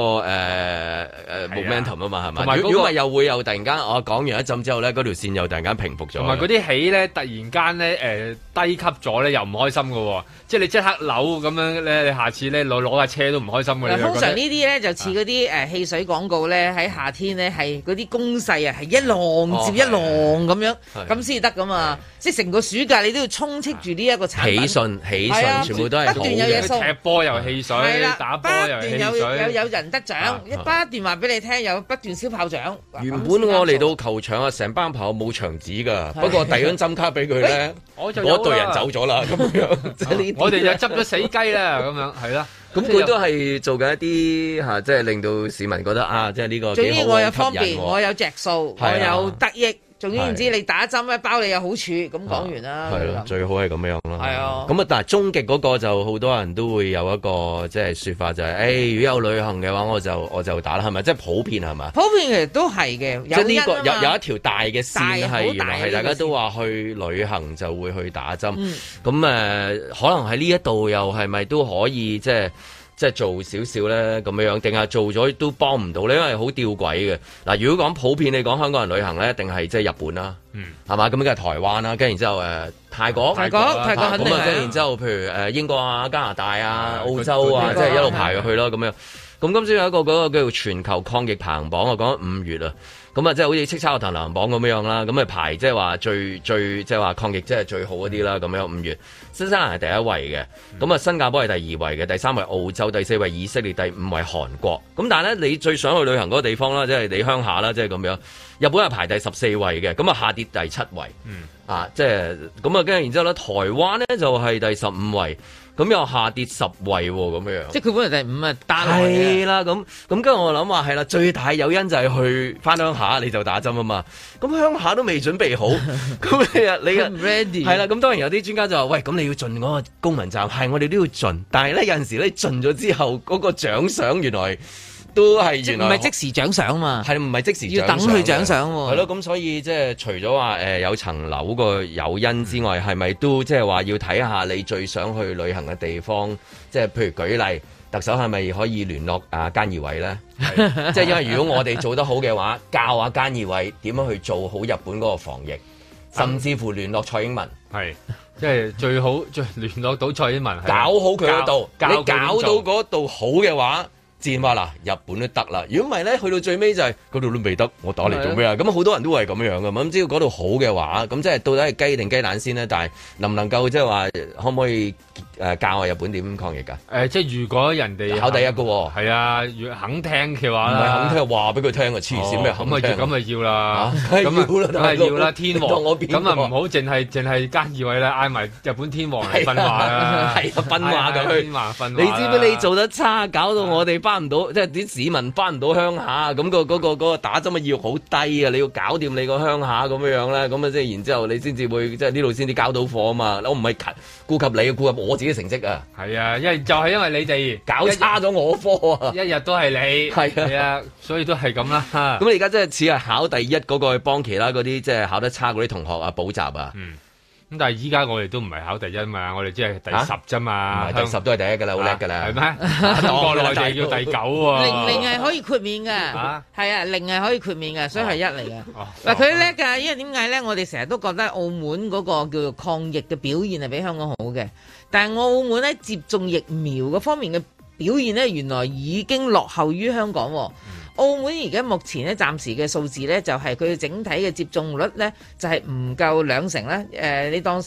[SPEAKER 2] momentum 啊嘛，係咪？如果唔係又會又突然間我講完一陣之後咧，嗰條線又突然間平復咗。
[SPEAKER 3] 同埋嗰啲喜咧，突然間咧低級咗咧，又唔開心㗎喎。即係你即刻扭咁樣咧，你下次咧攞架車都唔開心㗎。
[SPEAKER 4] 通常呢啲咧就似嗰啲汽水廣告咧，喺夏天咧係嗰啲攻勢啊，係一浪接一浪咁樣，咁先得㗎嘛。即係成個暑假你都要充斥住呢一個產品。喜訊，全部都係好嘅。
[SPEAKER 3] 踢波又汽水，打波又汽水，
[SPEAKER 4] 有人得獎，不斷話俾你聽，有不斷燒炮仗。
[SPEAKER 2] 原本我嚟到球場啊，成班朋友冇場紙㗎，不過遞張針卡俾佢咧，嗰隊人走咗啦，咁樣。
[SPEAKER 3] 我哋就執咗死雞啦，咁樣係啦。
[SPEAKER 2] 咁佢都係做緊一啲即係令到市民覺得啊，即係呢個幾好，
[SPEAKER 4] 總之我有方便，我有隻數，我有得益。總之唔知你打針咧，包你有好處，咁講完啦。
[SPEAKER 2] 係咯，最好係咁樣啦。
[SPEAKER 4] 係啊。
[SPEAKER 2] 咁啊，但係終極嗰個就好多人都會有一個即係説法，就係如果有旅行嘅話，我就打啦，係咪？即係普遍係嘛？
[SPEAKER 4] 普遍其實都係嘅。
[SPEAKER 2] 即係呢個有一條大嘅線係原來係大家都話去旅行就會去打針。咁可能喺呢一度又係咪都可以即係做少少咧咁樣，定係做咗都幫唔到咧？因為好吊詭嘅。嗱，如果講普遍，你講香港人旅行咧，一定係即係日本啦，係嘛？咁梗係台灣啦，跟住然之後泰國肯定咁啊，跟住然之後譬如英國啊、加拿大啊、澳洲啊，即係一路排去咯咁樣。咁今朝有一個嗰個叫做全球抗疫排行榜啊，講緊5月啊。咁啊，即係好似叱咤樂壇排行榜咁樣啦，咁啊排即係話最即係話抗疫即係最好嗰啲啦，咁樣5月，新西蘭係第一位嘅，咁啊新加坡係第2位嘅，第3位澳洲，第4位以色列，第5位韓國。咁但係咧，你最想去旅行嗰個地方啦，即係你鄉下啦，即係咁樣。日本係排第14位嘅，咁啊下跌第7位，即係咁啊，跟住然之後咧，台灣咧就係第15位。咁又下跌10位喎，咁樣。
[SPEAKER 4] 即係佢本來第5啊，單
[SPEAKER 2] 位係啦，咁跟住我諗話係啦，最大誘因就係去翻鄉下你就打針啊嘛。咁鄉下都未準備好，咁你唔 ready 係啦。咁當然有啲專家就話：喂，咁你要盡嗰個公民責任，係我哋都要盡。但係咧有陣時咧盡咗之後，嗰個獎賞原來都係原來
[SPEAKER 4] 唔係即時獎賞嘛？
[SPEAKER 2] 係唔係即時獎賞？
[SPEAKER 4] 要等佢獎賞喎。
[SPEAKER 2] 係咯，咁所以即係除咗話有層樓個誘因之外，係咪都即係話要睇下你最想去旅行嘅地方？即係譬如舉例，特首係咪可以聯絡菅義偉咧？即係因為如果我哋做得好嘅話，教下菅義偉點樣去做好日本嗰個防疫，甚至乎聯絡蔡英文，
[SPEAKER 3] 係即係最好聯絡到蔡英文，
[SPEAKER 2] 搞好佢嗰度。你搞到嗰度好嘅話。戰話嗱，日本都得啦。如果唔係咧，去到最尾就係嗰度都未得，我打嚟做咩啊？咁好多人都係咁樣嘅嘛。咁只要嗰度好嘅話，咁即係到底係雞定雞蛋先咧？但係能唔能夠即係話可唔可以教下日本點抗疫㗎？
[SPEAKER 3] 即係如果人哋
[SPEAKER 2] 考第一嘅喎，
[SPEAKER 3] 係啊，如肯聽嘅話，
[SPEAKER 2] 唔係肯聽話俾佢聽啊！黐線咩肯聽？
[SPEAKER 3] 咁咪要啦，
[SPEAKER 2] 咁
[SPEAKER 3] 係要啦，天王咁啊唔好淨係菅義偉啦，嗌埋日本天王嚟分話啦，
[SPEAKER 2] 係啊分話咁去。你知唔知你做得差，搞到我哋翻唔到，即係啲市民翻唔到鄉下，咁嗰個打針嘅意欲好低啊！你要搞掂你個鄉下咁樣咧，咁啊即係然之後你先至會即係呢度先至交到貨啊嘛！我唔係顧及你，顧及我自己成績啊！
[SPEAKER 3] 係啊，因為就係因為你哋
[SPEAKER 2] 搞差咗我科啊！
[SPEAKER 3] 一日都係你係啊，所以都係咁啦。
[SPEAKER 2] 咁你而家即係似係考第一嗰個去幫其他嗰啲即係考得差嗰啲同學啊補習啊。
[SPEAKER 3] 咁但係依家我哋都唔係考第一嘛，我哋只係第10啫嘛，
[SPEAKER 2] 第10都係第一㗎啦，好叻㗎啦，
[SPEAKER 3] 係咩？國內就要第9喎。
[SPEAKER 4] 零係可以豁免㗎，係啊，零係可以豁免㗎，所以係1嚟嘅。嗱，佢叻㗎，因為點解咧？我哋成日都覺得澳門嗰個叫做抗疫嘅表現係比香港好嘅，但係澳門喺接種疫苗嗰方面嘅表現咧，原來已經落後於香港喎。澳門而家目前咧暫時嘅數字咧就係佢整體嘅接種率咧就係唔夠2成啦，你當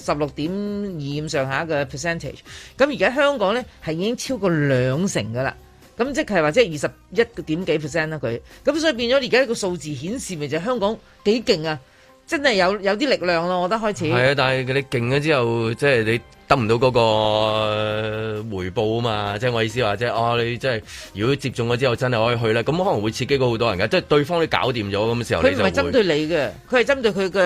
[SPEAKER 4] 16.2上下嘅 percentage， 咁而家香港咧係已經超過2成噶啦，咁即係話即係21點幾%啦佢，咁所以變咗而家個數字顯示咪就係香港幾勁啊！真係有啲力量咯，我覺得開始。係啊，
[SPEAKER 2] 但係你勁咗之後，即係你得唔到嗰個回報啊嘛！即係我意思話，即係你即係如果接種咗之後真係可以去咧，咁可能會刺激到好多人㗎。即係對方你搞掂咗咁嘅時候，
[SPEAKER 4] 佢唔係針對你嘅，佢係針對佢嘅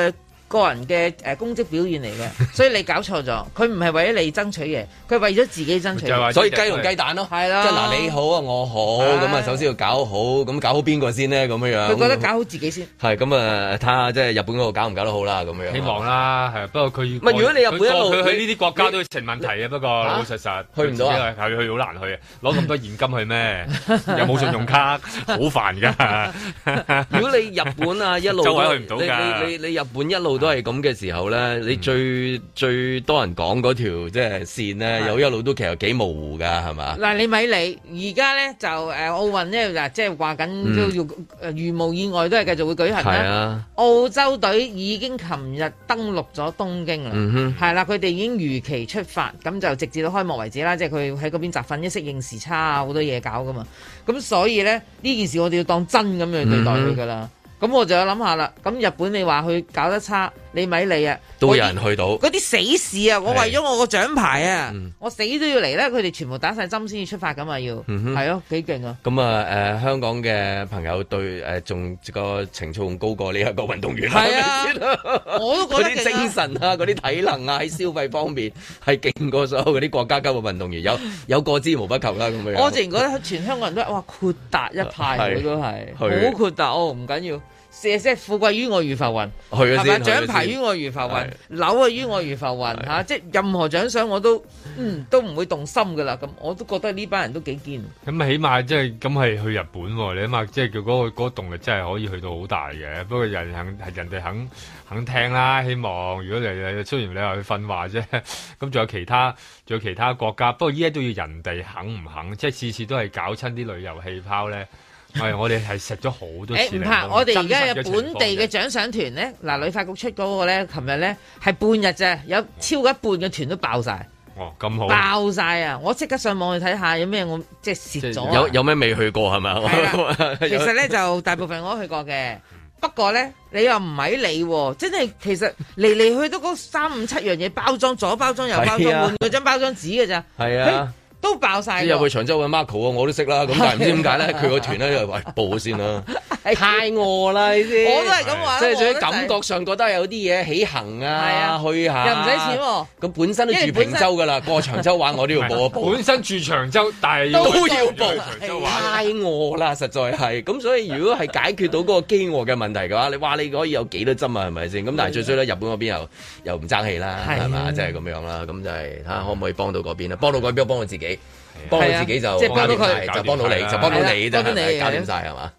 [SPEAKER 4] 個人嘅公職表現嚟嘅，所以你搞錯咗，佢唔係為咗你爭取嘢，佢係為咗自己爭取嘢，
[SPEAKER 2] 所以雞同雞蛋咯，
[SPEAKER 4] 係啦，
[SPEAKER 2] 即係嗱你好啊我好，咁啊首先要搞好，咁搞好邊個先呢？咁樣，
[SPEAKER 4] 佢覺得搞好自己先，
[SPEAKER 2] 係咁啊睇下即係日本嗰度搞唔搞得好啦咁樣，
[SPEAKER 3] 希望啦，係不過佢
[SPEAKER 2] 唔係如果你日本一路
[SPEAKER 3] 佢去呢啲國家都成問題嘅，不過老實實
[SPEAKER 2] 去唔到啊，
[SPEAKER 3] 係去好難去啊，攞咁多現金去咩？又冇信用卡，好煩㗎。
[SPEAKER 2] 如果你日本啊一路
[SPEAKER 3] 周圍去唔到㗎，
[SPEAKER 2] 你日本一路都係咁嘅時候咧，你最多人講嗰條即係線咧，有一路都其實幾模糊㗎，係嘛？
[SPEAKER 4] 嗱，你咪理，而家咧就奧運咧嗱，即係話緊都要如無意外都係繼續會舉行啦。
[SPEAKER 2] 啊，
[SPEAKER 4] 澳洲隊已經琴日登陸咗東京啦，係啦，佢哋已經如期出發，咁就直至到開幕為止啦。即係佢喺嗰邊集訓，一適應時差啊，好多嘢搞噶嘛。咁所以咧呢件事我哋要當真咁樣對待佢噶啦。咁我就有諗下啦。咁日本你話佢搞得差，你咪理啊，
[SPEAKER 2] 都有人去到
[SPEAKER 4] 嗰啲死士啊！我為咗我個獎牌啊，我死都要嚟咧。佢哋全部打晒針先至出發噶嘛，要係咯，幾勁啊！
[SPEAKER 2] 咁啊香港嘅朋友對仲個情操仲高過呢一個運動員係啊，我都覺得嗰啲精神啊，嗰啲體能啊，喺消費方面係勁過所有嗰啲國家級嘅運動員，有過之無不及啦咁樣。
[SPEAKER 4] 我自然覺得全香港人都哇豁達一派，佢都係好豁達哦，唔緊要。即係富貴於我如浮雲，係咪？獎牌於我如浮雲，樓啊於我如浮雲嚇，即係任何獎賞我都唔會動心噶啦。咁我都覺得呢班人都幾堅。咁
[SPEAKER 3] 起碼即係咁係去日本喎，你起碼即係叫嗰個動力真係可以去到好大嘅。不過人哋肯聽啦，希望如果你雖然你話去訓話啫，咁仲有其他國家，不過依家都要人哋肯唔肯，即係次次都係搞親啲旅遊氣泡咧。係，我哋係食咗好多次。唔怕，
[SPEAKER 4] 我哋而家有本地嘅獎賞團咧，嗱，旅發局出嗰個咧，琴日咧係半日啫，有超過一半嘅團都爆晒。
[SPEAKER 3] 哦，咁好。
[SPEAKER 4] 爆晒啊！我即刻上網去睇下有咩我即係蝕咗。
[SPEAKER 2] 有咩未去過係咪？
[SPEAKER 4] 其實咧就大部分我都去過嘅，不過咧你又唔係理喎，真係其實嚟去都嗰3、5、7樣嘢包裝，左包裝右包裝，換嗰張包裝紙嘅咋。係啊。都爆晒，
[SPEAKER 2] 入去長洲揾 Marco 啊，我都識啦。咁但係唔知點解咧，佢個團咧就喂報先啦，太餓啦呢啲。
[SPEAKER 4] 我都係咁話，
[SPEAKER 2] 即係最感覺上覺得有啲嘢起行啊，去下
[SPEAKER 4] 又唔使錢喎。
[SPEAKER 2] 咁本身都住坪洲噶啦，過長洲玩我都要報一報。
[SPEAKER 3] 本身住長洲，但係
[SPEAKER 2] 都要報。太餓啦，實在係。咁所以如果係解決到嗰個飢餓嘅問題嘅話，你話你可以有幾多針啊？係咪先？咁但係最衰咧，日本嗰邊又唔爭氣啦，係嘛？即係咁樣啦。咁就係睇下可唔可以幫到嗰邊啊？幫到嗰邊，幫到自己。幫到自己就
[SPEAKER 4] 即係幫到佢，
[SPEAKER 2] 就幫到你，就幫到你，
[SPEAKER 4] 幫到你，
[SPEAKER 2] 搞掂晒係嘛？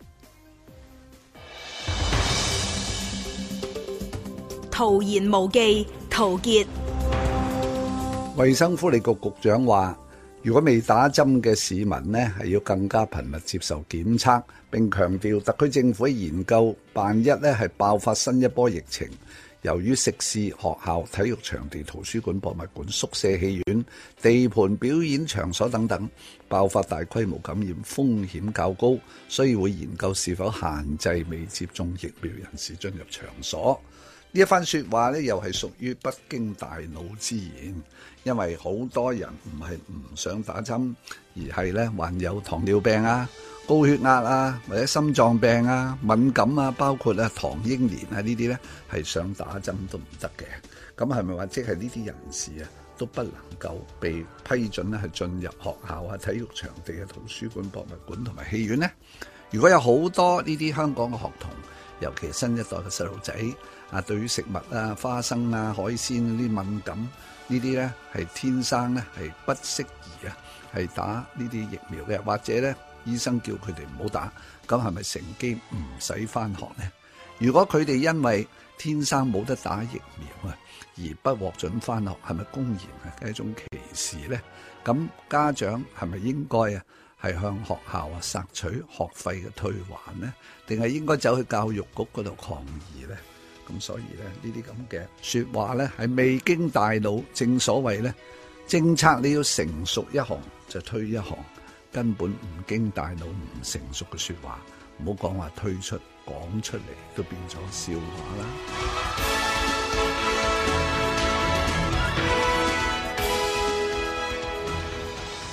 [SPEAKER 6] 徒言無忌，陶傑。
[SPEAKER 7] 衛生福利局局長話，如果未打針嘅市民呢，係要更加頻密接受檢測，並強調特區政府研究，萬一呢係爆發新一波疫情。由於食肆、學校、體育場地、圖書館、博物館、宿舍、戲院、地盤、表演場所等等爆發大規模感染風險較高，所以會研究是否限制未接種疫苗人士進入場所。呢一番說話呢，又係屬於不經大腦之言，因為好多人唔係唔想打針，而係呢患有糖尿病啊、高血壓啊，或者心臟病啊、敏感啊，包括糖英年啊呢啲呢，係想打針都唔得嘅。咁係咪話即係呢啲人士啊都不能夠被批准咧係進入學校啊、體育場地嘅圖書館、博物館同埋戲院呢？如果有好多呢啲香港嘅學童，尤其新一代嘅細路仔啊，對於食物啊、花生啊、海鮮呢啲敏感，呢啲呢係天生呢係不適宜啊，係打呢啲疫苗嘅，或者呢醫生叫佢哋唔好打，咁係咪乘機唔使返學呢？如果佢哋因為天生冇得打疫苗啊，而不獲准返學，係咪公然係一種歧視呢？咁家長係咪應該啊係向學校啊索取學費嘅退還呢？定係應該走去教育局嗰度抗議呢？咁所以咧，呢啲咁嘅說話咧係未經大腦，正所謂咧，政策你要成熟一行就推一行，根本唔經大腦唔成熟嘅說話，唔好講話推出，講出嚟都變咗笑話啦。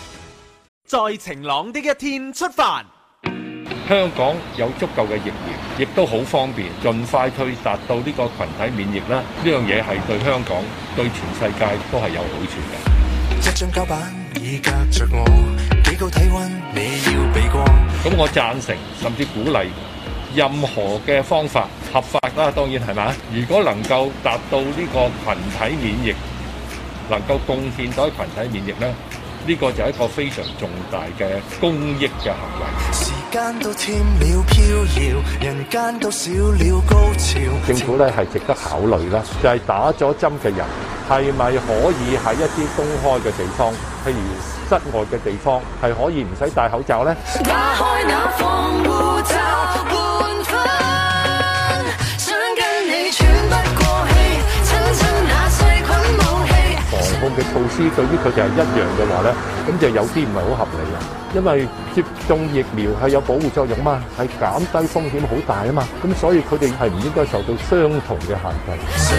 [SPEAKER 1] 在晴朗的一天出發，
[SPEAKER 8] 香港有足夠嘅疫苗。 亦都好方便，盡快去達到呢個群體免疫啦。呢樣嘢係對香港、對全世界都係有好處嘅。
[SPEAKER 9] 一張膠板已隔着我，幾高體温你要避過。
[SPEAKER 8] 咁我贊成甚至鼓勵任何嘅方法合法啦，當然係咪？如果能夠達到呢個群體免疫，能夠貢獻到群體免疫咧，呢個就係一個非常重大嘅公益嘅行為。
[SPEAKER 9] 時間都添了飄搖，人間都少了高潮。
[SPEAKER 8] 政府咧係值得考慮啦，就係打咗針嘅人係咪可以喺一啲公開嘅地方，譬如室外嘅地方，係可以唔使戴口罩咧？
[SPEAKER 9] 打開那防護罩半分，想跟你喘不過氣，親親那細菌武器。
[SPEAKER 8] 防控嘅措施對於佢哋係一樣嘅話咧，咁就有啲唔係好合理啊！因為接種疫苗係有保護作用嘛，係減低風險好大啊嘛，咁所以佢哋係唔應該受到相同嘅限制。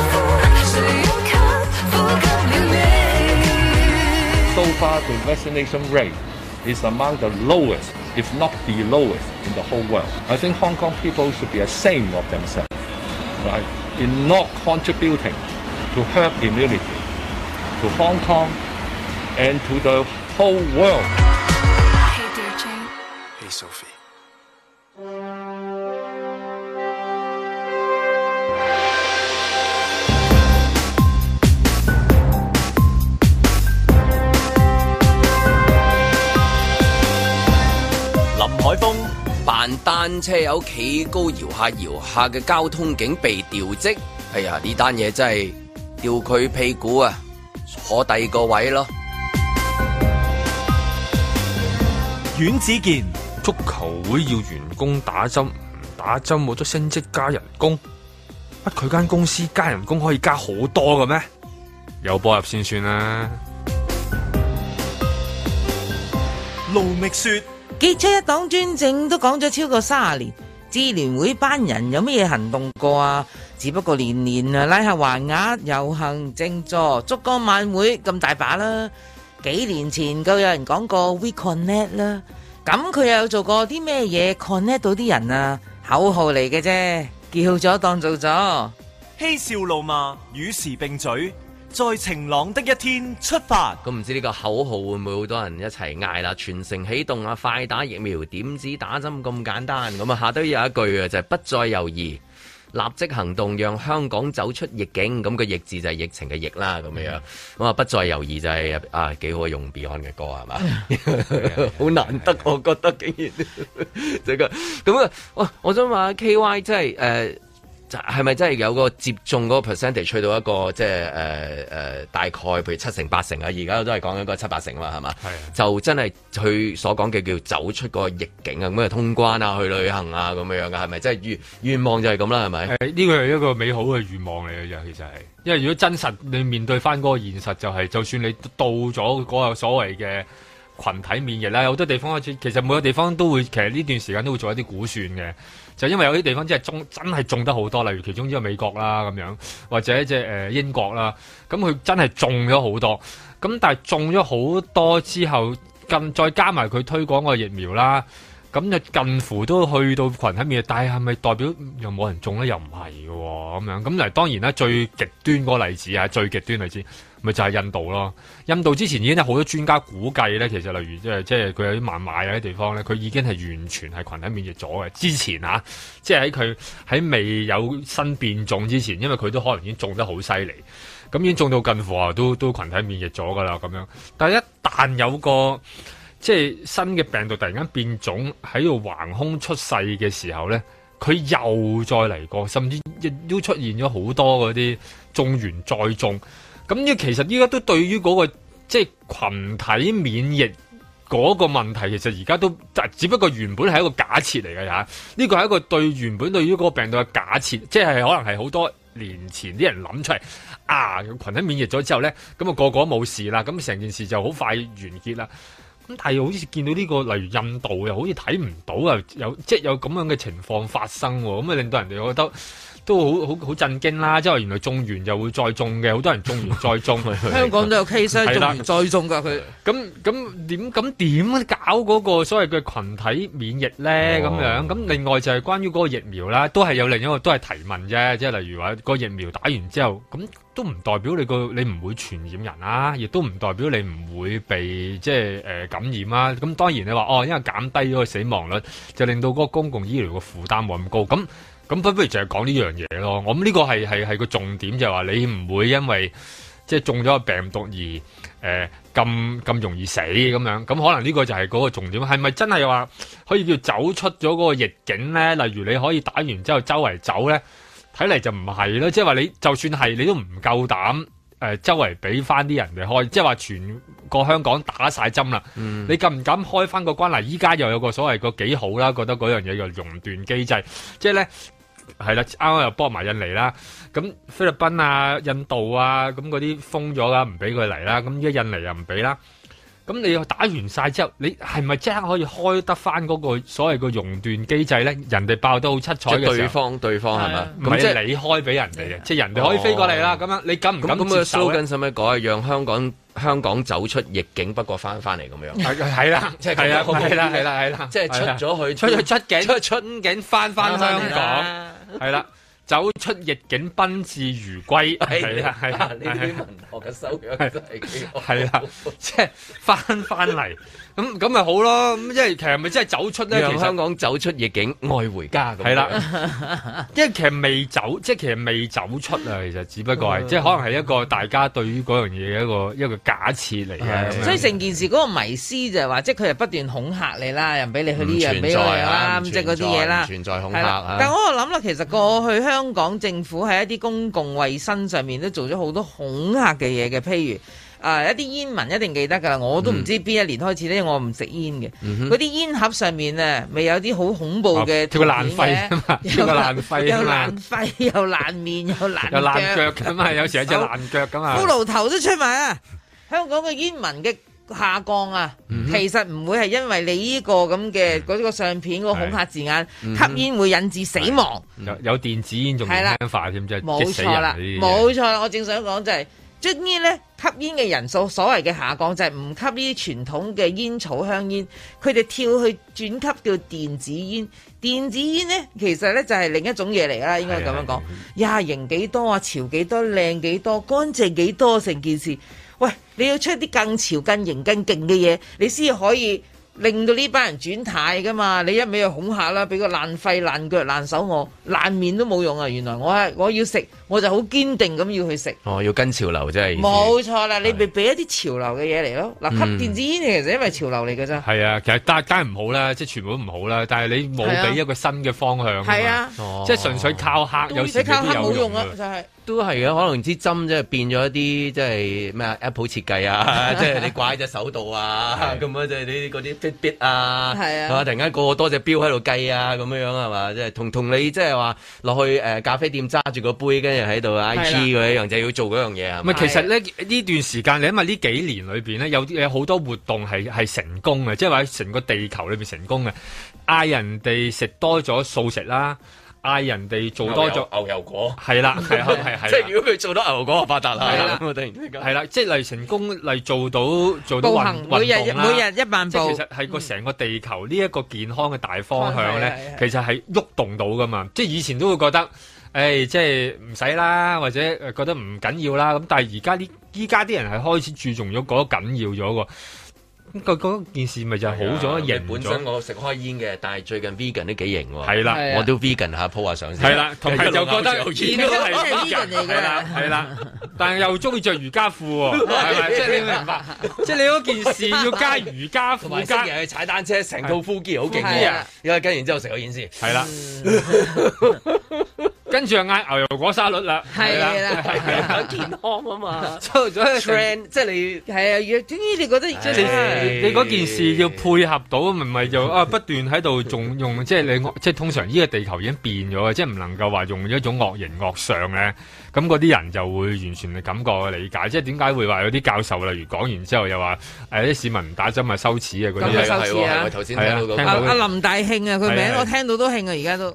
[SPEAKER 8] So far, the vaccination rate is among the lowest, if not the lowest, in the whole world. I think Hong Kong people should be ashamed of themselves, right, in not contributing to herd immunity to Hong Kong and to the whole world.
[SPEAKER 9] Hey dear Jane. Hey Sophie.
[SPEAKER 1] 林海峰
[SPEAKER 2] 扮單車友企高搖下嘅交通警被調職，哎呀呢單嘢真係吊佢屁股啊！坐第二個位咯。
[SPEAKER 1] 阮子健，
[SPEAKER 3] 足球會要員工打針，唔打針冇得升職加人工，乜佢間公司加人工可以加好多嘅咩？有波入先算啦。
[SPEAKER 1] 盧覓雪，
[SPEAKER 4] 傑出一黨專政都講咗超過30年，支聯會班人有咩嘢行動過啊？只不過年年啊拉下橫額、遊行、靜坐、燭光晚會咁大把啦。幾年前夠有人講過 We Connect 啦，咁佢又有做過啲咩嘢 connect 到啲人啊？口號嚟嘅啫，叫咗當做咗。
[SPEAKER 1] 嬉笑怒罵與時並舉，在晴朗的一天出發。
[SPEAKER 2] 咁唔知呢個口號會唔會好多人一齊嗌啦？全城起動啊！快打疫苗，點止打針咁簡單？咁啊下低有一句啊，就係不再猶豫。立即行動，讓香港走出逆境。咁個逆字就係疫情嘅疫啦，咁樣。咁啊，不再猶豫就係幾好用 Beyond 嘅歌係嘛？好難得，我覺得竟然即係咁啊！我想問 KY 即係係咪真係有個接種嗰個 percentage 去到一個即係大概譬如7成8成啊？而家都係講緊個7、8成嘛，係嘛？係就真係佢所講嘅叫走出個逆境啊，咁啊通關啊，去旅行啊咁樣嘅係咪？即係願望就係咁啦，係咪？
[SPEAKER 3] 呢個係一個美好嘅願望嚟嘅啫，其實係。因為如果真實你面對翻嗰個現實，就係就算你到咗嗰個所謂嘅群體免疫啦，有好多地方開始，其實每個地方都會，其實呢段時間都會做一啲估算嘅。就因為有啲地方真係中得好多，例如其中一個美國啦咁樣，或者即係英國啦，咁佢真係中咗好多。咁但係中咗好多之後，再加埋佢推廣個疫苗啦，咁就近乎都去到群體免疫。但係係咪代表又冇人中咧？又唔係嘅喎，咁樣。咁嚟當然啦，最極端嗰個例子啊，最極端例子咪就係印度咯。印度之前已經有好多專家估計咧，其實例如即係佢有啲孟買啊啲地方咧，佢已經係完全係群體免疫咗嘅。之前啊，即係喺未有新變種之前，因為佢都可能已經中得好犀利，咁已經中到近乎啊都群體免疫咗噶啦咁樣。但係一旦有個即係新嘅病毒突然間變種喺度橫空出世嘅時候咧，佢又再嚟過，甚至亦都出現咗好多嗰啲中完再中。咁呢其實依家都對於嗰個即係群體免疫嗰個問題，其實而家都只不過原本係一個假設嚟嘅嚇。呢個係一個原本對於嗰個病毒嘅假設，即係可能係好多年前啲人諗出嚟啊，群體免疫咗之後咧，咁啊個個冇事啦，咁成件事就好快完結啦。咁但係好似見到呢個例如印度又好似睇唔到啊，有咁樣嘅情況發生喎，咁啊令到人哋覺得都好震驚啦！即係原來種完就會再種嘅，好多人種完再種。
[SPEAKER 4] 香港都有 case 種完再種㗎佢。
[SPEAKER 3] 咁點搞嗰個所謂嘅群體免疫咧？咁樣咁另外就係關於嗰個疫苗啦，都係有另一個都係提問啫。即係例如話個疫苗打完之後，咁都唔代表你唔會傳染人啊，亦都唔代表你唔會被感染啊。咁當然你話因為減低咗個死亡率，就令到嗰個公共醫療嘅負擔冇咁高。咁不如就係講呢樣嘢咯。我諗呢個係個重點，就係話你唔會因為即係中咗個病毒而咁容易死咁樣。咁可能呢個就係嗰個重點。係咪真係話可以叫走出咗嗰個逆境咧？例如你可以打完之後周圍走咧，睇嚟就唔係咯。即係話你就算係你都唔夠膽周圍俾翻啲人哋開，即係話全個香港打晒針啦。你敢唔敢開翻個關嚟？依家又有個所謂個幾好啦，覺得嗰樣嘢叫熔斷機制，即係咧。係啦，啱啱又幫埋印尼啦，咁菲律賓啊、印度啊，咁嗰啲封咗啦，唔俾佢嚟啦，咁依家印尼又唔俾啦，咁你打完晒之後，你係咪即刻可以開得翻嗰個所謂個熔斷機制咧？人哋爆得好七彩嘅時候，對方係咪？唔係即係你開俾人哋嘅，即係人哋可以飛過嚟啦。咁樣你敢唔敢接受咧？咁使唔使改？讓香港走出逆境，不過翻嚟咁樣。係啦，即係係啦，即係出咗去出境翻香港。係啦，走出逆境，賓至如歸。係啦，呢啲文學嘅修養真係幾好。係啦，即係翻嚟，咁咪好咯。咁即係其實咪真係走出咧？其實香港走出逆境，愛回家咁。係啦，因為其實未走，即係其實未走出啊。其實只不過係，即係可能係一個大家對於嗰樣嘢嘅一個假設嚟嘅。所以成件事嗰個迷思就係話，即係佢係不斷恐嚇你啦，又唔俾你去呢樣，唔俾我嚟啦，咁即係嗰啲嘢啦。存在恐嚇。但係我諗啦，其實過去香港政府喺一啲公共衛生上面都做咗好多恐嚇嘅嘢嘅，譬如一啲煙民一定記得㗎啦，我都唔知邊一年開始咧，我唔食煙嘅，嗰啲煙盒上面啊，咪有啲好恐怖嘅條爛肺啊嘛，條爛肺又爛肺又爛面又爛腳咁啊，有時有隻爛腳咁啊，骷髏頭都出埋啊！香港嘅煙民嘅下降啊，其實唔會係因為你呢個咁嘅嗰個相片嗰個恐嚇字眼，吸煙會引致死亡，有電子煙仲輕化添，即係冇錯啦，冇錯啦，我正想講就係。終於咧，吸煙嘅人數所謂嘅下降就係唔吸呢啲傳統嘅煙草香煙，佢哋跳去轉級叫電子煙。電子煙咧，其實咧就係另一種嘢嚟啦，應該咁樣講。呀，型幾多啊，潮幾多，靚幾多，乾淨幾多，成件事。喂，你要出啲更潮、更型、更勁嘅嘢，你先可以令到呢班人轉態噶嘛？你一味去恐嚇啦，俾個爛肺、爛腳、爛手我，爛面都冇用啊！原來我要食，我就好堅定咁要去食。要跟潮流真係。冇錯啦，你咪俾一啲潮流嘅嘢嚟咯。嗱，吸電子煙其實因為潮流嚟嘅啫。係啊，其實梗係唔好啦，即係全部都唔好啦。但係你冇俾一個新嘅方向。係啊，即係純粹靠嚇，有時靠嚇冇用啊，就係。都係嘅，可能支針即係變咗一啲即係咩 Apple 設計啊，即係你掛喺隻手度啊，咁樣即係你嗰啲 Fitbit 啊，係啊，突然間個多隻錶喺度計啊，咁樣係嘛？即係同你即係話落去咖啡店揸住個杯，跟住喺度 IG 嗰樣就要做嗰樣嘢啊。唔係，其實咧呢段時間，你因為呢幾年裏邊咧有好多活動係成功嘅，即係話成個地球裏邊成功嘅，嗌人哋食多咗素食啦。嗌人哋做多咗牛油果，係啦，係即係如果佢做到牛油果就發達啦，係啦，突然之間係啦，即係嚟成功嚟做到運動啦，每日1萬步，即係其實係個成個地球呢一個健康嘅大方向咧，其實係喐動到噶嘛，即係以前都會覺得，即係唔使啦，或者覺得唔緊要啦，咁但係依家啲人係開始注重咗嗰緊要咗喎。嗰件事咪就係好咗型咗。本身我食開煙嘅，但係最近 vegan 都幾型喎。係啦，我都 vegan 下 po 下相先。係啦，同埋就覺得煙都係 vegan 嚟嘅。係啦，但係又中意着瑜伽褲喎，係咪？即係你明白？即係你嗰件事要加瑜伽褲，加去踩單車，成套 full gear 好勁嘅。因為跟完之後食咗煙先。係啦。跟住又嗌牛油果沙律啦，係啦，健康啊嘛，做咗 trend， 即係你係啊，終於你覺得即係你嗰件事要配合到，唔係就不斷喺度仲用，即係你即係通常呢個地球已經變咗嘅，即係唔能夠話用一種惡形惡相咧，咁嗰啲人就會完全嘅感覺理解，即係點解會話有啲教授例如講完之後又話啲市民唔打針係羞恥嘅嗰啲係喎，頭先聽到阿林大慶啊，佢名我聽到都興啊，而家都。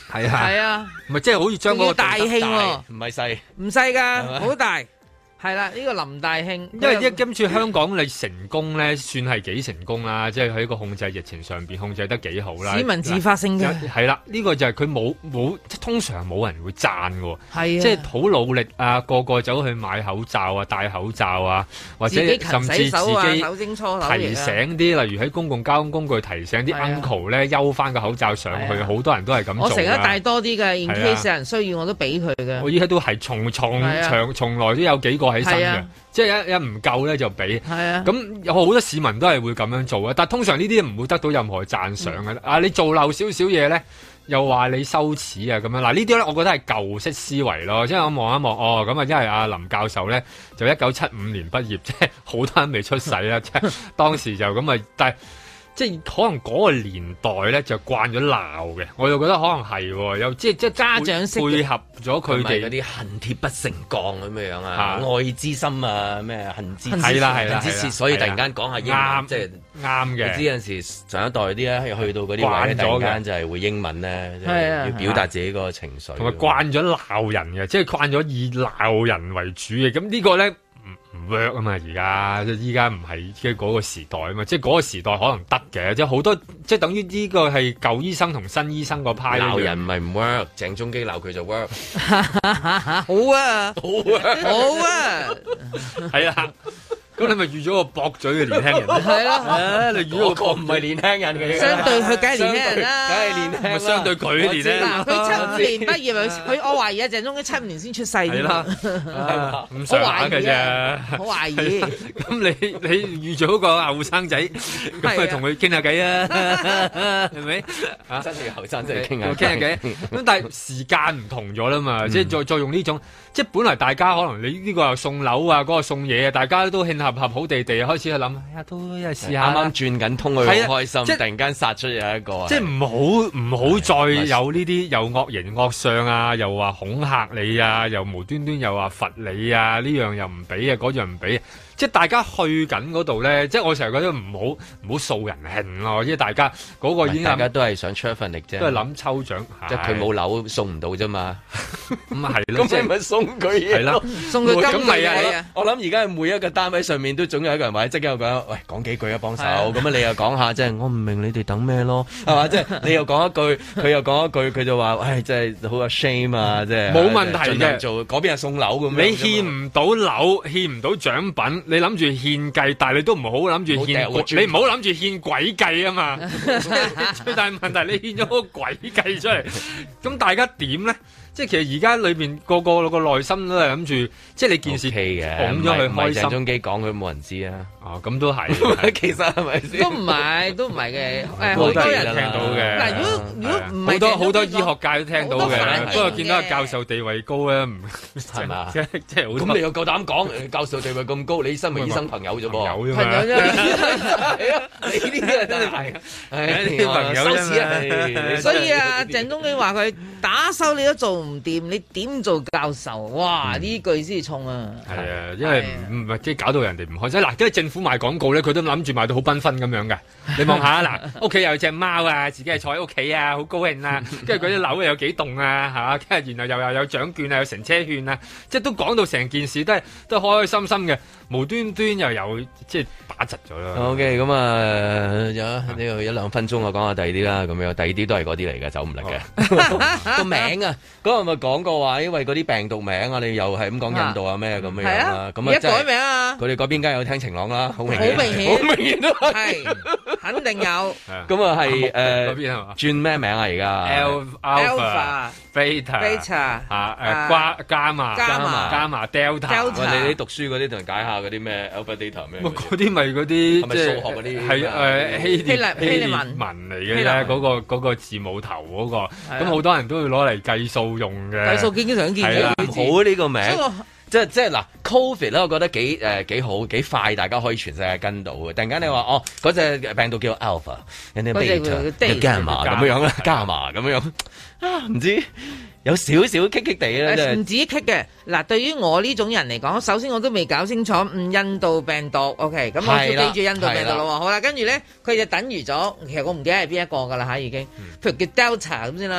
[SPEAKER 3] 係啊，
[SPEAKER 4] 係啊，
[SPEAKER 3] 咪即係好似將嗰個
[SPEAKER 4] 大慶喎，
[SPEAKER 2] 唔係細，
[SPEAKER 4] 唔細㗎，好大。係啦，呢個林大慶，
[SPEAKER 3] 因為今次香港你成功咧，算係幾成功啦，即係喺個控制疫情上邊控制得幾好啦。
[SPEAKER 4] 市民自發性嘅
[SPEAKER 3] 係啦，呢個就係佢冇，即係通常冇人會讚嘅，
[SPEAKER 4] 係啊，
[SPEAKER 3] 即係好努力啊，個個走去買口罩啊，戴口罩啊，或者甚至自己提醒啲，例如喺公共交通工具提醒啲 uncle 咧，休翻個口罩上去，好多人都係咁做。
[SPEAKER 4] 我成日帶多啲嘅，in case 有人需要我都俾佢嘅。
[SPEAKER 3] 我依家都係從來都有幾個。起身嘅，即係一唔夠咧就俾，咁有好多市民都係會咁樣做啊。但係通常呢啲唔會得到任何讚賞嘅。啊，你做漏少少嘢咧，又話你羞恥啊咁樣。嗱，呢啲咧，我覺得係舊式思維咯。即係我望一望，哦，咁啊，因為阿林教授咧就1975年畢業，即係好多人未出世啦。即係當時就咁啊，但係。即係可能嗰個年代咧就慣咗鬧嘅，我又覺得可能係又即係
[SPEAKER 4] 家長式
[SPEAKER 3] 配合咗佢哋
[SPEAKER 2] 嗰啲恨鐵不成鋼咁樣啊，愛之深啊咩恨之
[SPEAKER 3] 係啦，
[SPEAKER 2] 所以突然間講下英文即係啱嘅。你知有陣時上一代啲咧去到嗰啲位咧，突然間就係會英文咧，要表達自己個情緒，
[SPEAKER 3] 同埋慣咗鬧人嘅，即係慣咗以鬧人為主嘅。咁呢個咧。唔 work 啊嘛，而家依家唔係即係嗰個時代啊嘛，即係嗰個時代可能得嘅，即係好多即係等於呢個係舊醫生同新醫生個派
[SPEAKER 2] 鬧人唔係唔 work， 鄭中基鬧佢就 work，
[SPEAKER 4] 好啊，好啊，
[SPEAKER 3] 係啊。咁你咪預咗個駁嘴嘅年輕人？
[SPEAKER 4] 係咯，
[SPEAKER 2] 你預個唔係年輕人嘅，
[SPEAKER 4] 相對佢梗係年輕人啦，
[SPEAKER 2] 梗係年輕啦。
[SPEAKER 3] 相對佢年輕。
[SPEAKER 4] 嗱，佢75年畢業，我懷疑啊，鄭中基75年先出世。係
[SPEAKER 3] 啦，唔上下嘅啫。
[SPEAKER 4] 好懷疑。
[SPEAKER 3] 咁你預咗個後生仔，咁咪同佢傾下偈啊？係咪？
[SPEAKER 2] 真係後生仔傾下
[SPEAKER 3] 偈。咁但係時間唔同咗啦嘛，即係再用呢種，即係本來大家可能你呢個又送樓啊，嗰個送嘢啊，大家都慶合好地地，開始去諗，都一試下。
[SPEAKER 2] 啱啱轉緊通，佢好開心，突然間殺出有一個。
[SPEAKER 3] 即係唔好再有呢啲又惡形惡相啊，又話恐嚇你啊，又無端端又話罰你啊，呢樣又唔俾啊，嗰樣唔俾。即係大家去緊嗰度咧，即係我成日覺得唔好掃人興咯，即係大家嗰個已經大
[SPEAKER 2] 家都係想出一份力啫，
[SPEAKER 3] 都係諗抽獎，
[SPEAKER 2] 即係佢冇樓送唔到啫嘛，
[SPEAKER 3] 咁係咯，
[SPEAKER 2] 咁你咪送佢嘢，
[SPEAKER 3] 係啦，
[SPEAKER 4] 送佢金幣啊！
[SPEAKER 2] 我諗而家每一個單位上面都總有一個人或者即刻有講，喂，講幾句啊，幫手，咁啊你又講下，即係我唔明你哋等咩咯，係嘛？即係你又講一句，佢又講一句，佢就話，喂，真係好有 shame 啊，即係冇問題嘅，做嗰邊係送樓咁樣，
[SPEAKER 3] 你欠唔到樓，欠唔到獎品。你諗住獻計，但係你都唔好諗住獻，你唔好諗住獻鬼計啊嘛！最大問題你獻咗個鬼計出嚟，咁大家點咧？即係其實而家裏邊個內心都係諗住，即係你件事講咗佢開心。
[SPEAKER 2] 鄭中基講佢冇人知啊！
[SPEAKER 3] 哦，咁都係，
[SPEAKER 2] 其實係咪先？
[SPEAKER 4] 都唔係嘅，好多人
[SPEAKER 3] 聽到嘅。
[SPEAKER 4] 嗱，如果唔係
[SPEAKER 3] 好多醫學界都聽到嘅，不過見到教授地位高咧，唔
[SPEAKER 2] 係嘛？
[SPEAKER 3] 即係好。
[SPEAKER 2] 咁你又夠膽講教授地位咁高？你身為醫生朋友啫噃，
[SPEAKER 3] 朋友啫
[SPEAKER 4] 嘛。
[SPEAKER 2] 係啊，你呢啲真係
[SPEAKER 3] 啲朋友啫。
[SPEAKER 4] 所以啊，鄭中基話佢打手你都做唔掂，你點做教授？哇！呢句先重啊！
[SPEAKER 3] 係啊，因為唔係即係搞到人哋唔開心。嗱，因為政府賣廣告咧，佢都諗住賣到好繽紛咁樣嘅。你望下嗱，屋企有隻貓啊，自己係坐喺屋企啊，好高興啊。跟住嗰啲樓有幾棟啊，係嘛？跟住然後又有獎券啊，有乘車券啊，即係都講到成件事都開開心心嘅。無端端又有即係打窒咗啦。
[SPEAKER 2] OK， 咁啊，有呢個1-2分鐘我講下第二啲啦，咁樣第二啲都係嗰啲嚟嘅，走唔甩嘅。個名啊，嗰日咪講過話，因為嗰啲病毒名啊，你又係咁講印度啊咩咁樣啦。咁啊，
[SPEAKER 4] 一改名啊，
[SPEAKER 2] 佢哋嗰邊梗係有聽晴朗啦，好明
[SPEAKER 4] 顯，
[SPEAKER 2] 好明顯都
[SPEAKER 4] 係，肯定有。
[SPEAKER 2] 咁啊係
[SPEAKER 3] 嗰邊係嘛？
[SPEAKER 2] 轉咩名啊而家
[SPEAKER 3] Alpha、Beta 伽馬、Delta。
[SPEAKER 2] 你啲讀書嗰啲同人解下嗰啲咩 Alpha Data 咩？
[SPEAKER 3] 嗰啲咪嗰啲即係
[SPEAKER 2] 數學嗰啲
[SPEAKER 3] 係希臘文嚟嘅咧，嗰個字母頭嗰個，咁好多人都會攞嚟計數用嘅。
[SPEAKER 4] 計數經常見嘅，
[SPEAKER 2] 好呢個名。即係嗱 ，Covid 咧，我覺得幾好幾快，大家可以全世界跟到嘅。突然間你話哦，嗰隻病毒叫 Alpha， 人哋 Beta， Gamma 咁樣啦，Gamma 咁樣啊，唔知有少少棘棘地咧，
[SPEAKER 4] 唔止棘嘅。嗱，對於我呢種人嚟講，首先我都未搞清楚印度病毒 ，OK， 咁我要記住印度病毒咯。好啦，跟住咧，佢就等於咗，其實我唔記得係邊一個噶啦吓，已經，譬如叫 Delta 咁先啦。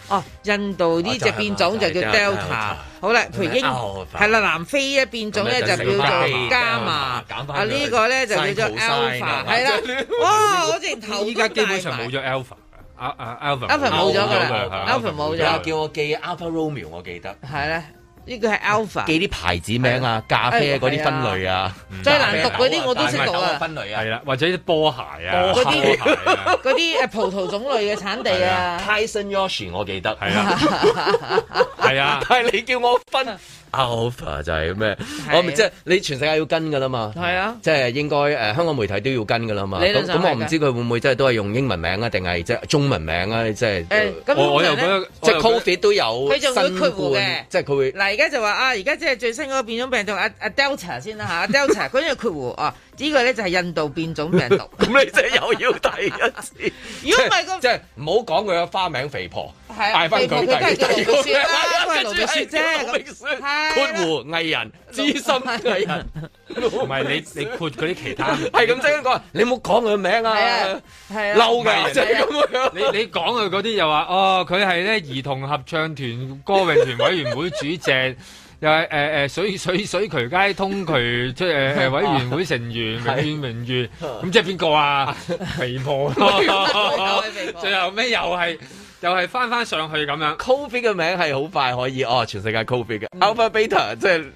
[SPEAKER 4] 哦，印度呢隻變種就叫 Delta。好啦，譬如係啦，南非一變種咧就叫做伽馬。啊呢個咧就叫做 Alpha。係啦，哇！我直頭
[SPEAKER 3] 依家基本上冇咗 Alpha。Alpha
[SPEAKER 4] 冇咗㗎啦
[SPEAKER 3] ，Alpha
[SPEAKER 4] 冇咗。
[SPEAKER 2] 叫我記 Alpha Romeo， 我記得。
[SPEAKER 4] 係咧。呢個係 Alpha，
[SPEAKER 2] 記啲牌子名啊，咖啡嗰啲分類啊，
[SPEAKER 4] 最難讀嗰啲我都識讀啊。
[SPEAKER 2] 分類啊，
[SPEAKER 3] 係啦，或者啲波鞋啊，
[SPEAKER 4] 嗰啲葡萄種類嘅產地啊。
[SPEAKER 2] Tyson Yoshi 我記得
[SPEAKER 3] 係啊，係啊，
[SPEAKER 2] 但係你叫我分 Alpha 就係咩？我咪即係你全世界要跟㗎啦嘛。
[SPEAKER 4] 係啊，
[SPEAKER 2] 即係應該香港媒體都要跟㗎啦嘛。咁我唔知佢會唔會即係都係用英文名啊，定係即係中文名啊？即係
[SPEAKER 3] 我又覺得
[SPEAKER 2] 即係 Covid 都有，
[SPEAKER 4] 佢仲會括弧嘅，
[SPEAKER 2] 即係佢會。
[SPEAKER 4] 而家就話而家即係最新嗰個變種病毒阿 Delta 先啦嚇，Delta 嗰啲括弧呢個咧就係印度變種病毒。
[SPEAKER 2] 咁你真係又要第一次？
[SPEAKER 4] 如果唔係
[SPEAKER 2] 即係唔好講佢嘅花名肥婆，
[SPEAKER 4] 嗌翻佢都係叫盧覓雪啦，都係盧覓雪啫。
[SPEAKER 2] 括弧藝人，資深藝人，
[SPEAKER 3] 唔係你括嗰啲其他，
[SPEAKER 2] 係咁即係講，你冇講佢名啊，係嬲嘅，就係咁樣。
[SPEAKER 3] 你講佢嗰啲又話佢係咧兒童合唱團歌詠團委員會主席。又係水渠街通渠即係委員會成員名譽，咁即係邊個啊？肥婆咯，最後尾又係翻上去咁樣。
[SPEAKER 2] Covid 嘅名係好快可以全世界 Covid 嘅 Alpha Beta 即係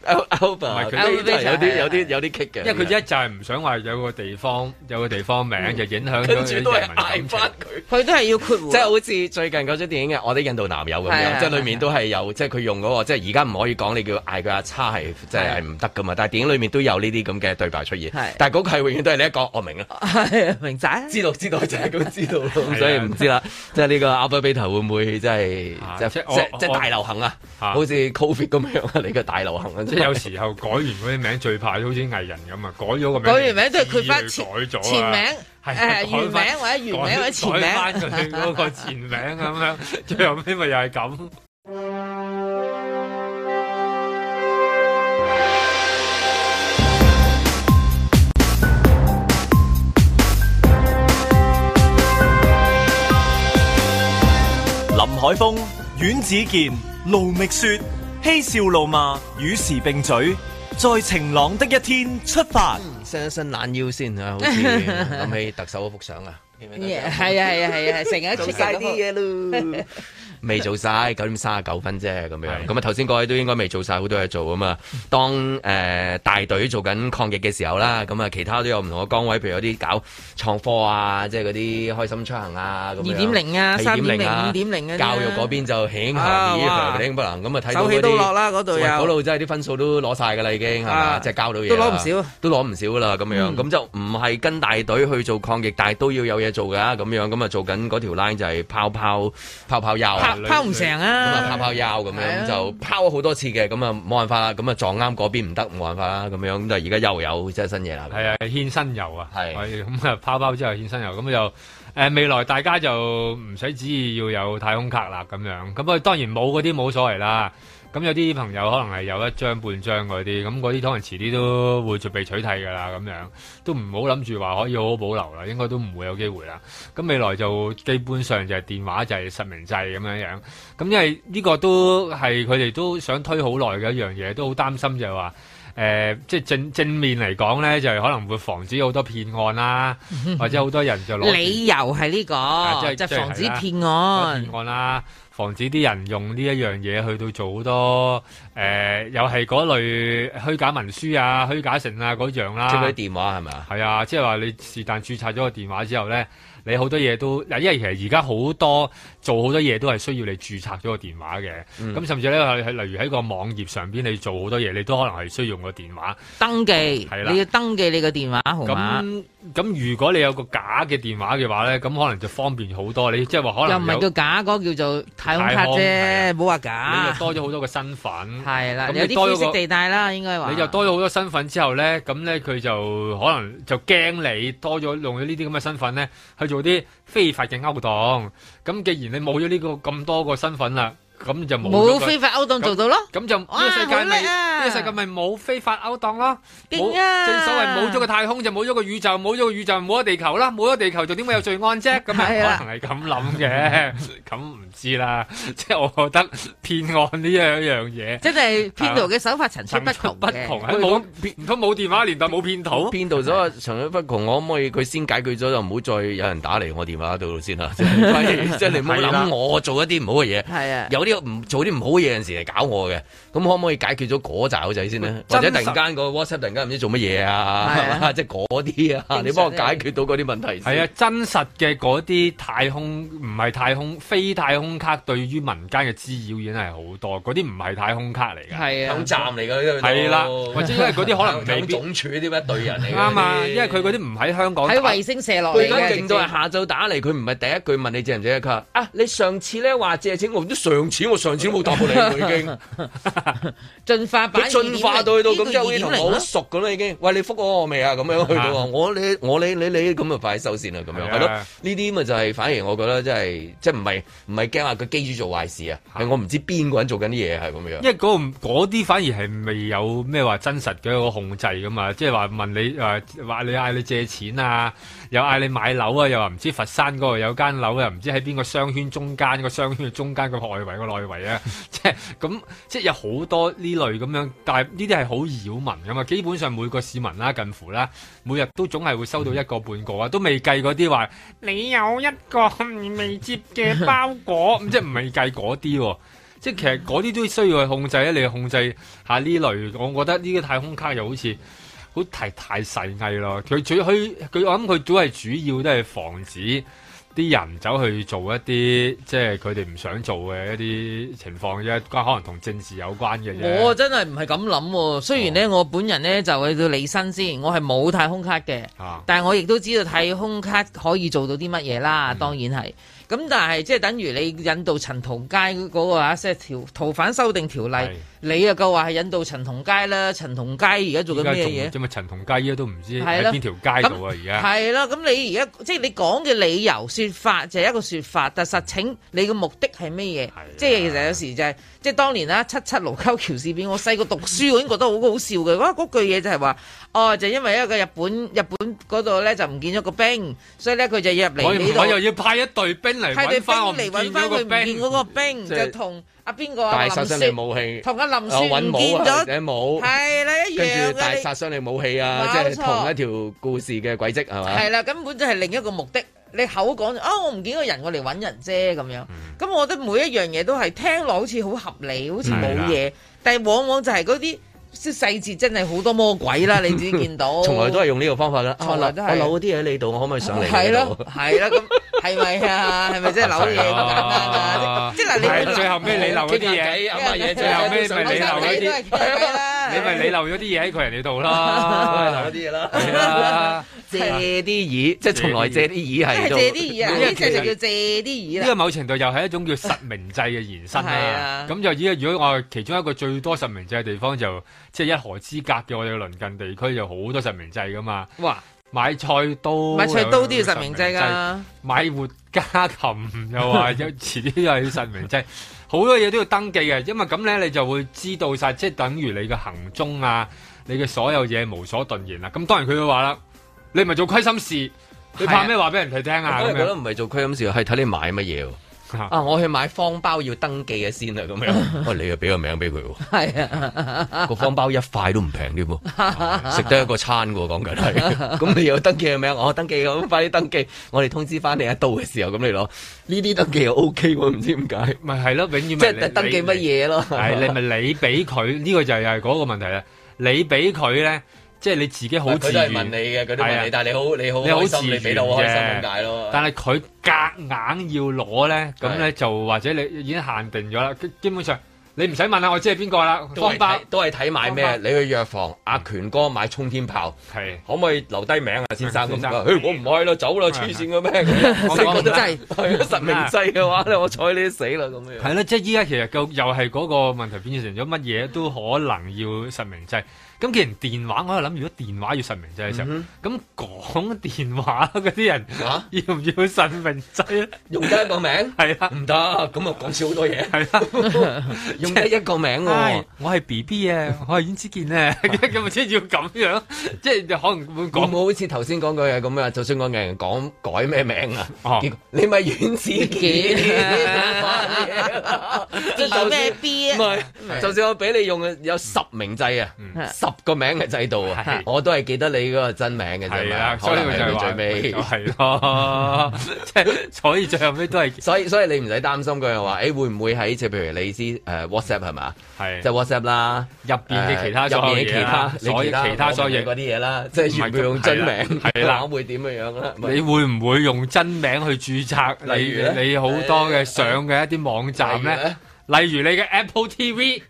[SPEAKER 2] Alpha， 有啲棘嘅。
[SPEAKER 3] 因為佢一就係唔想話有個地方名就影響咗啲人民感情。
[SPEAKER 4] 佢都係要括弧，
[SPEAKER 2] 即係好似最近嗰出電影嘅《我的印度男友》咁樣，即係裡面都係有即係佢用嗰個即係而家唔可以講你叫嗌佢阿叉係即係唔得噶嘛，但係電影裡面都有呢啲咁嘅對白出現。但係嗰個係永遠都係你一講我明啦，
[SPEAKER 4] 明仔
[SPEAKER 2] 知道就係咁知道咯，所以唔知啦。即係呢個 Alpha Beta 會唔會即係即係大流行啊？好似 Covid 咁樣啊！你嘅大流行啊！
[SPEAKER 3] 即係有時候改完嗰啲名最怕好似藝人咁啊，改咗個名，
[SPEAKER 4] 改完名都係佢翻
[SPEAKER 3] 前
[SPEAKER 4] 名。原名或者原名或者前名，
[SPEAKER 3] 改翻佢嗰個前名咁樣，最後尾咪又係咁。
[SPEAKER 1] 林海峰、阮子健、盧覓雪，嬉笑怒罵，與時並舉。在晴朗的一天出發，
[SPEAKER 2] 伸一伸懶腰先啊！好似諗起特首嗰幅相啊，
[SPEAKER 4] 係，成日出晒啲嘢咯。
[SPEAKER 2] 未做晒9:39啫，咁樣。咁啊頭先各位都應該未做晒好多嘢做啊嘛。當大隊做緊抗疫嘅時候啦，咁啊其他都有唔同嘅崗位，譬如有啲搞創科啊，即係嗰啲開心出行啊，咁樣
[SPEAKER 4] 2.0 啊、3.0、5.0啊，
[SPEAKER 2] 教育嗰邊就興不能咁啊睇到嗰啲手
[SPEAKER 4] 起都落啦，嗰度有
[SPEAKER 2] 嗰度真係啲分數都攞晒㗎啦，已經係嘛？即係交到嘢都攞唔少㗎啦，咁樣咁就唔係跟大隊去做抗疫，但係都要有嘢做㗎，咁樣咁啊做緊嗰條 line 就係拋休。
[SPEAKER 4] 拋唔成啊！
[SPEAKER 2] 拋休咁樣就拋好多次嘅，咁啊冇辦法啦，咁啊撞啱嗰邊唔得，冇辦法啦，咁樣咁就而家又有即係新嘢啦。
[SPEAKER 3] 係啊，獻新油啊，係咁啊拋之後獻新油，咁就未來大家就唔使旨意要有太空卡啦，咁樣咁啊當然冇嗰啲冇所謂啦。咁有啲朋友可能係有一張半張嗰啲，咁嗰啲可能遲啲都會被取締㗎啦，咁樣都唔好諗住話可以好好保留啦，應該都唔會有機會啦。咁未來就基本上就係電話就係實名制咁樣樣，咁因為呢個都係佢哋都想推好耐嘅一樣嘢，都好擔心就係話即係正面嚟講咧，就係可能會防止好多騙案啦，或者好多人就攞
[SPEAKER 4] 理由係呢個，即係防止騙案
[SPEAKER 3] 啦。防止啲人用呢一樣嘢去到做好多又係嗰類虛假文書啊、虛假成啊嗰樣啦。
[SPEAKER 2] 即係嗰啲電話係咪啊？
[SPEAKER 3] 係啊，即係話你是但註冊咗個電話之後咧，你好多嘢都嗱，因為其實而家好多做好多嘢都係需要你註冊咗個電話嘅。咁甚至咧係例如喺個網頁上邊你做好多嘢，你都可能係需要用個電話
[SPEAKER 4] 登記。係啦，你要登記你個電話號碼。
[SPEAKER 3] 咁如果你有個假嘅電話嘅話咧，咁可能就方便好多。你即係話可能
[SPEAKER 4] 又唔係叫假，嗰個叫做太空卡啫，冇話假。
[SPEAKER 3] 你就多咗好多個身份。
[SPEAKER 4] 係啦，有啲灰色地帶啦，應該話。
[SPEAKER 3] 你就多咗好多身份之後咧，咁咧佢就可能就驚你多咗用咗呢啲咁嘅身份咧，去做啲非法嘅勾當。咁既然你冇咗呢個咁多個身份啦， 咁就
[SPEAKER 4] 冇非法勾當做到咯。
[SPEAKER 3] 咁就呢個世界咪呢個世界咪冇非法勾當咯。勁啊！正所謂冇咗個太空就冇咗個宇宙，冇咗個宇宙冇咗地球啦，冇咗地球就點會有罪案啫？咁啊可能係咁諗嘅，咁唔知啦。即係我覺得騙案呢樣嘢，
[SPEAKER 4] 真係騙徒嘅手法層出不窮嘅。
[SPEAKER 3] 唔通冇電話年代冇騙徒？
[SPEAKER 2] 騙徒所層出不窮，我可唔可以佢先解決咗就唔好再有人打嚟我電話度先啦？即係你唔好諗我做一啲唔好嘅嘢。係啊，有啲唔做啲唔好嘅嘢，有陣時嚟搞我嘅。咁可唔可以解決咗嗰紮口仔先呢？或者突然間個 WhatsApp 突然間唔知做乜嘢啊？即係嗰啲啊，你幫我解決到嗰啲問題先。
[SPEAKER 3] 係啊，真實嘅嗰啲太空唔係太空非太空卡，對於民間嘅滋擾已經係好多。嗰啲唔係太空卡嚟嘅，
[SPEAKER 2] 係啊，站嚟嘅。
[SPEAKER 3] 係啦，或者因為嗰啲可能未必
[SPEAKER 2] 總署啲一隊人嚟。
[SPEAKER 3] 啱啊，因為佢嗰啲唔喺香港，
[SPEAKER 4] 喺衛星射落嚟嘅。
[SPEAKER 2] 佢而家勁到係下晝打嚟，佢唔係第一句問你借唔借，佢話啊，你上次咧話借錢，我上次都冇答過你，佢已經
[SPEAKER 4] 進化版，
[SPEAKER 2] 佢進化到去到咁，即係好似同我好熟咁啦，已經。喂，你覆我未啊？咁樣去到我你咁啊，快收線啦，咁樣係咯。呢啲咪就係反而我覺得真係即係唔係驚話個機主做壞事啊，係我唔知邊個人做緊啲嘢係咁樣。
[SPEAKER 3] 因為嗰啲反而係未有咩話真實嘅一個控制噶嘛，即係話問你話你嗌你借錢啊，又嗌你買樓啊，又話唔知佛山嗰度有間樓又唔知喺邊個商圈中間，個商圈嘅中間個外圍個內圍啊，即係咁，即係有好多呢類咁樣，但係呢啲係好擾民噶嘛。基本上每個市民啦，近乎啦，每日都總係會收到一個半個啊，都未計嗰啲話你有一個未接嘅包裹，即係唔係計嗰啲喎。即係其實嗰啲都需要去控制咧，你去控制下呢類。我覺得呢個太空卡又好似好太細藝咯。佢我諗佢都係主要都係防止啲人走去做一啲即係佢哋唔想做嘅一啲情況啫，可能同政治有關嘅嘢。
[SPEAKER 4] 我真係唔係咁諗喎。雖然咧，我本人咧就去到離身先，我係冇太空卡嘅，但係我亦都知道太空卡可以做到啲乜嘢啦。當然係。咁但係即係等於你引渡陳同佳嗰個即係逃犯修訂條例，你又夠話係引渡陳同佳啦。陳同佳而家做緊咩嘢？
[SPEAKER 3] 即係陳同佳依家都唔知喺邊條街度啊！而家
[SPEAKER 4] 係啦，咁你而家即係你講嘅理由説法就係一個説法，但實情你嘅目的係咩嘢？即係其實有時就係即係當年啦，7·7盧溝橋事變，我細個讀書我已經覺得好好笑嘅。嗰句嘢就係話，就因為一個日本嗰度咧就唔見咗個兵，所以咧佢就要入嚟呢度。
[SPEAKER 3] 我又要派一隊兵嚟揾翻佢唔
[SPEAKER 4] 見嗰個兵，就同阿邊個
[SPEAKER 2] 大殺傷力武器，
[SPEAKER 4] 同阿林雪唔見咗，係啦一樣嘅。
[SPEAKER 2] 跟住大殺傷力武器啊，即係同一條故事嘅軌跡係嘛？係
[SPEAKER 4] 啦，根本就係另一個目的。你口講我唔見個人，我嚟揾人啫咁樣。咁我覺得每一樣嘢都係聽落好似好合理，好似冇嘢，但係往往就係嗰啲細節真係好多魔鬼啦！你自己見到，
[SPEAKER 2] 從來都係用呢個方法啦。
[SPEAKER 4] 從來都係
[SPEAKER 2] 我扭嗰啲嘢喺你度，我可唔可以上嚟？
[SPEAKER 4] 係咯，係啦，咁係咪啊？係咪真係扭嘢咁簡單啊？即係嗱，你
[SPEAKER 3] 最後尾你漏嗰啲嘢，啱乜嘢？最後尾咪你漏嗰啲，你咪你漏咗啲嘢喺佢人哋度啦，
[SPEAKER 2] 漏咗啲嘢啦。借啲耳，即係從來借啲耳係
[SPEAKER 4] 借啲耳啊！呢隻就叫借啲耳啦。
[SPEAKER 3] 呢個某程度又係一種叫實名制嘅延伸啦。咁就而家如果我其中一個最多實名制嘅地方就即係一河之隔嘅我哋嘅鄰近地區，有好多實名制噶嘛。哇！買菜刀都要實名制㗎，買活家禽又話有遲啲又要實名制，好多嘢都要登記嘅。因為咁咧，你就會知道晒，即係等於你嘅行蹤啊，你嘅所有嘢無所遁形啦。咁當然佢會話啦。你唔係做虧心事，你怕咩話俾人哋聽啊？
[SPEAKER 2] 我覺得唔係做虧心事，係睇你買乜嘢。我去買方包要登記嘅先啊，咁樣。你又俾個名俾佢。係啊，個方包一塊都唔平添喎，食得一個餐喎，講緊係。咁你又登記嘅名，我登記咁快啲登記，我哋通知翻你一到嘅時候，咁你攞呢啲登記又 OK 喎，唔知點解。
[SPEAKER 3] 咪係咯，永遠
[SPEAKER 2] 即係登記乜嘢咯？
[SPEAKER 3] 係你咪你俾佢呢個就係嗰個問題啦。你俾佢咧。即係你自己好自然，
[SPEAKER 2] 佢都係問你嘅，佢都問你，但係你好自然，你俾到我開心咁解咯。
[SPEAKER 3] 但係佢夾硬要攞咧，咁咧就或者你已經限定咗啦。基本上你唔使問啦，我知係邊個啦。方包
[SPEAKER 2] 都係睇買咩？你去藥房，阿權哥買沖天炮，係可唔可以留低名啊，先生？咁我唔買啦，走啦，黐線嘅咩？實名制係實名制嘅話咧，我睬你都死啦咁樣。係
[SPEAKER 3] 啦，即係依家其實又係嗰個問題變成咗乜嘢都可能要實名制。 咁既然電話，我喺度諗，如果電話要實名制嘅時候，咁講電話嗰啲人要唔要實名制咧？
[SPEAKER 2] 用得一個名
[SPEAKER 3] 係啦，
[SPEAKER 2] 唔得，咁啊講少好多嘢。
[SPEAKER 3] 係啦，
[SPEAKER 2] 用得一個名喎，
[SPEAKER 3] 我係 BB 啊，我係阮之健啊，咁咪先要咁樣，即係可能會講。
[SPEAKER 2] 冇好似頭先講句嘢咁啊，就算個人講改咩名啊，你咪阮之健，
[SPEAKER 4] 即係咩 B 啊？
[SPEAKER 2] 唔係，就算我俾你用有10名制啊，10個名嘅制度啊，我都係記得你嗰個真名嘅啫。係
[SPEAKER 3] 啊，所以佢就係最尾係咯，即係所以最後尾都係，
[SPEAKER 2] 所以你唔使擔心佢又話，會唔會喺即係譬如你知WhatsApp 係嘛？係即係 WhatsApp 啦，
[SPEAKER 3] 入邊嘅其他所有嘢，其他所有嘢
[SPEAKER 2] 嗰啲嘢啦，即係全部用真名，係啦，會點樣樣啦？
[SPEAKER 3] 你會唔會用真名去註冊？你好多嘅上嘅一啲網站咧？例如你嘅 Apple TV，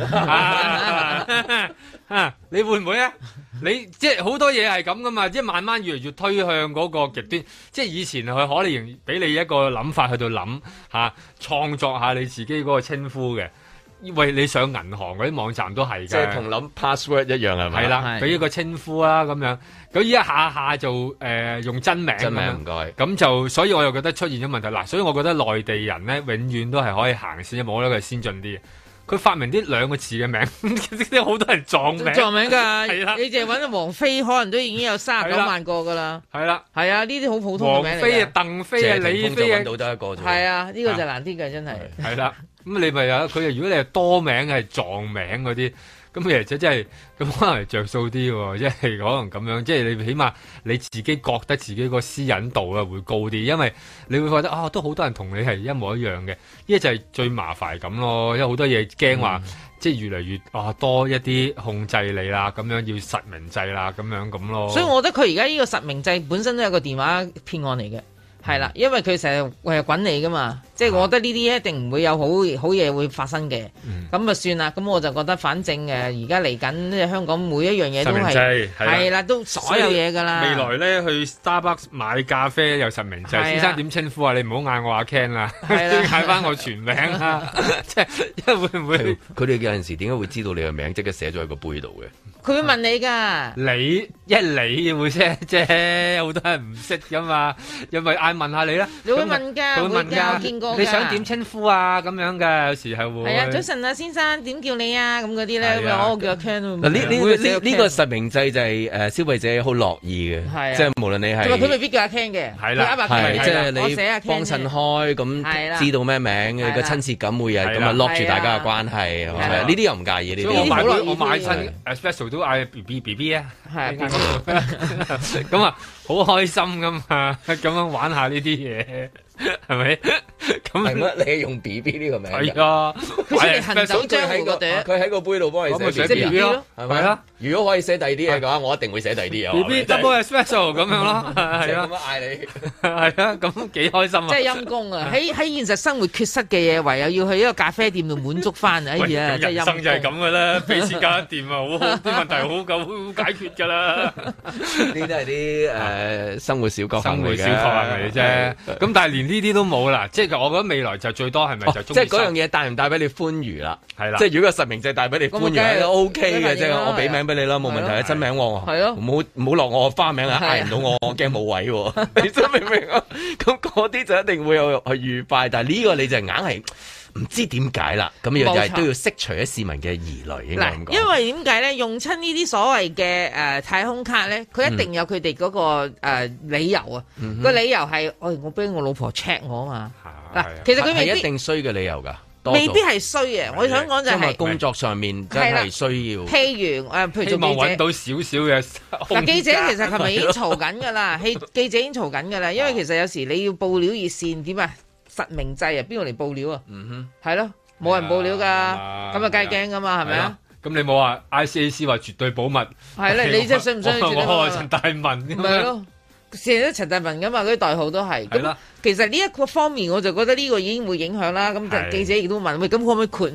[SPEAKER 3] 你會唔會啊？你即係好多嘢係咁噶嘛，即係慢慢越嚟越推向嗰個極端。即係以前佢可能俾你一個諗法去到諗嚇，創作下你自己嗰個稱呼嘅。因為你上銀行嗰啲網站都係㗎，
[SPEAKER 2] 即係同諗 password 一樣係咪？
[SPEAKER 3] 係啦，俾一個稱呼啦咁樣。咁依一下就用真名，
[SPEAKER 2] 真名唔該。
[SPEAKER 3] 咁就所以我又覺得出現咗問題嗱，所以我覺得內地人咧永遠都係可以行先，我覺得佢係先進啲。佢發明啲兩個字嘅名，即好多人撞名。
[SPEAKER 4] 撞名㗎，係啦。你淨係揾到王菲，可能都已經有39萬個㗎啦。係啦，係啊，呢啲好普通嘅名嚟。
[SPEAKER 3] 王菲啊，鄧菲啊，李菲啊，
[SPEAKER 2] 揾到得一個啫。
[SPEAKER 4] 係啊，呢個就難啲嘅，真係。
[SPEAKER 3] 係啦。咁你咪有佢？如果你係多名係撞名嗰啲，咁其實真係咁可能着數啲喎，即係可能咁樣，即係你起碼你自己覺得自己個私隱度啊會高啲，因為你會覺得都好多人同你係一模一樣嘅，呢就係最麻煩咁咯，因為好多嘢驚話即係越嚟越多一啲控制你啦，咁樣要實名制啦，咁咯。所以
[SPEAKER 4] 我覺得佢而家呢個實名制本身都係個電話騙案嚟嘅。係啦，因為佢成日滾你噶嘛，即係我覺得呢啲一定唔會有好嘢會發生嘅。咁就算啦，咁我就覺得反正而家嚟緊香港每一樣嘢都係啦，都所有嘢噶啦。
[SPEAKER 3] 未來咧去 Starbucks 買咖啡有實名制，先生點稱呼啊？你唔好嗌我阿 Ken 啦，嗌翻我全名啦。即係因為會唔會
[SPEAKER 2] 佢哋有陣時點解會知道你嘅名，即刻寫咗喺個杯度嘅？
[SPEAKER 4] 佢會問你㗎，
[SPEAKER 3] 你會啫，好多人唔識㗎嘛，因為嗌問下你啦，
[SPEAKER 4] 你會問㗎，會問㗎，我見過㗎。
[SPEAKER 3] 你想點稱呼啊？咁樣㗎，有時係會。
[SPEAKER 4] 係啊，早晨啊，先生點叫你啊？咁嗰啲咧，咁樣我叫阿 Ken。
[SPEAKER 2] 呢個實名制就係消費者好樂意嘅，即係無論你係。
[SPEAKER 4] 佢未必叫阿 Ken 嘅，
[SPEAKER 3] 係啦，
[SPEAKER 2] 即係你幫襯開咁，知道咩名，個親切感會係咁啊，lock 住大家嘅關係，呢啲又唔介意呢啲。
[SPEAKER 3] 我買親 special 都嗌 BB 啊，係咁啊，好開心噶嘛，咁樣玩下呢啲嘢，係咪？咁
[SPEAKER 2] 係乜？你用 BB 呢個名？
[SPEAKER 3] 係啊，
[SPEAKER 4] 佢行走江湖嗰
[SPEAKER 2] 佢喺個杯度幫你寫
[SPEAKER 3] BB 咯，係咪啊？
[SPEAKER 2] 如果可以寫第二啲嘢嘅話，我一定會寫第二啲嘢。
[SPEAKER 3] BB double special 咁樣咯，係啊，
[SPEAKER 2] 咁樣嗌你，
[SPEAKER 3] 係啊，咁幾開心啊！
[SPEAKER 4] 即係陰公啊！喺現實生活缺失嘅嘢，唯有要去一個咖啡店度滿足翻。哎呀，真係陰公。人生就係咁噶啦，俾錢搞掂啊，好好啲問題好夠解決噶啦。
[SPEAKER 2] 呢啲係啲生活小確幸
[SPEAKER 3] 嚟啫。咁但係連呢啲都冇啦，即係我覺得未來就最多係咪就
[SPEAKER 2] 即係嗰樣嘢帶唔帶俾你歡愉啦？
[SPEAKER 3] 係啦，
[SPEAKER 2] 即係如果個實名制帶俾你歡愉都 OK 嘅，即係我俾名俾你啦，冇問題啊，真名喎，係咯，唔好落我花名啊，嗌唔到我驚冇位喎，你真明唔明啊？咁嗰啲就一定會有去愉快，但係呢個你就硬係唔知點解啦，咁又係都要釋除咗市民嘅疑慮，應該咁講。
[SPEAKER 4] 因為點解咧？用親呢啲所謂嘅太空卡咧，佢一定有佢哋嗰個理由啊。個理由係，我俾我老婆 check 我啊嘛。嗱，其實佢未必
[SPEAKER 2] 係一定衰嘅理由㗎。
[SPEAKER 4] 未必係衰嘅，我想講就係、是、
[SPEAKER 2] 工作上面真係需要。
[SPEAKER 4] 譬如譬如做記者，
[SPEAKER 3] 希望揾到少少嘅。
[SPEAKER 4] 嗱，記者其實係咪已經嘈緊㗎啦？記者已經嘈緊㗎啦，因為其實有時你要報料熱線點啊？實名制啊，邊個嚟報料啊？係咯，冇人報料㗎，咁啊梗係驚㗎嘛，係咪啊？
[SPEAKER 3] 咁你冇話 ICAC 話絕對保密，
[SPEAKER 4] 係咧，你真係信唔信？
[SPEAKER 3] 我陳大文咁
[SPEAKER 4] 咪咯。成日都陳大文㗎嘛，嗰啲代號都係。咁其實呢一個方面，我就覺得呢個已經會影響啦。咁就記者亦都問：喂，咁可唔可以豁免？